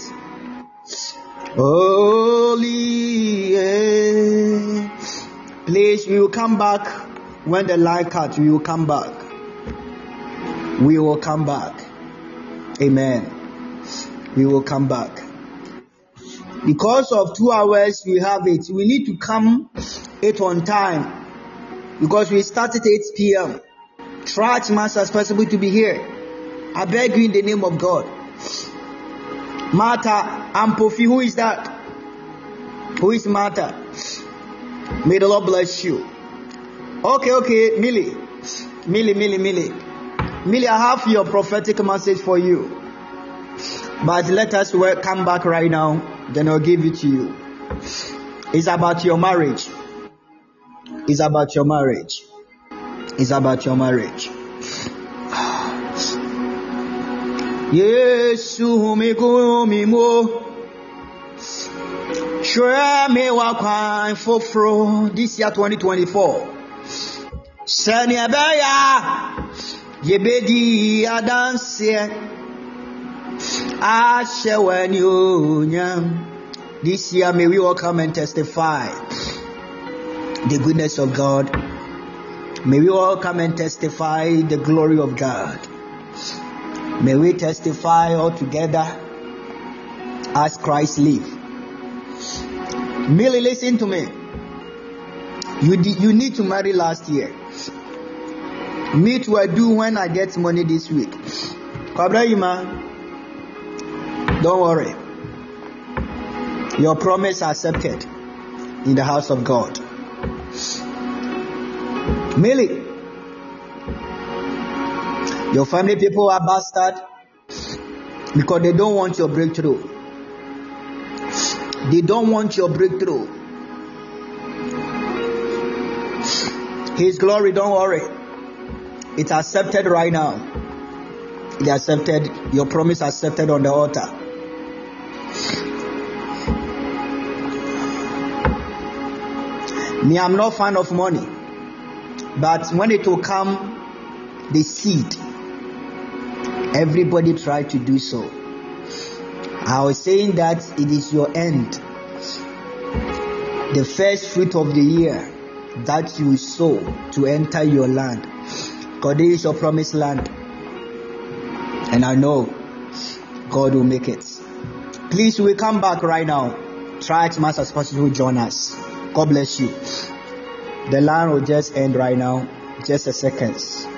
[SPEAKER 2] Holy, yeah. Please, we will come back when the light cuts. We will come back. We will come back. Amen. We will come back. Because of two hours, we have it. We need to come it on time. Because we start at eight p.m. Try as much as possible to be here. I beg you in the name of God. Martha Ampofi, who is that? Who is Martha? May the Lord bless you. Okay, okay, Millie. Millie, Millie, Millie. Millie, I have your prophetic message for you. But let us come back right now. Then I'll give it to you. It's about your marriage. It's about your marriage. It's about your marriage. Yesu migo mimo. Shre me wa kwan fofro this year twenty twenty-four. Sani abeya yebedi adanse. This year may we all come and testify the goodness of God. May we all come and testify the glory of God. May we testify all together as Christ lives. Millie, listen to me. You did, you need to marry last year. Me too, I do when I get money this week. Kabrayima, don't worry. Your promise accepted in the house of God. Millie, your family people are bastard because they don't want your breakthrough. They don't want your breakthrough. His glory, don't worry. It's accepted right now. It accepted. Your promise accepted on the altar. Me, I'm not fan of money. But when it will come, the seed, everybody try to do so. I was saying that it is your end. The first fruit of the year that you sow to enter your land. Because this is your promised land. And I know God will make it. Please, we come back right now. Try as much as possible to join us. God bless you. The line will just end right now. Just a second.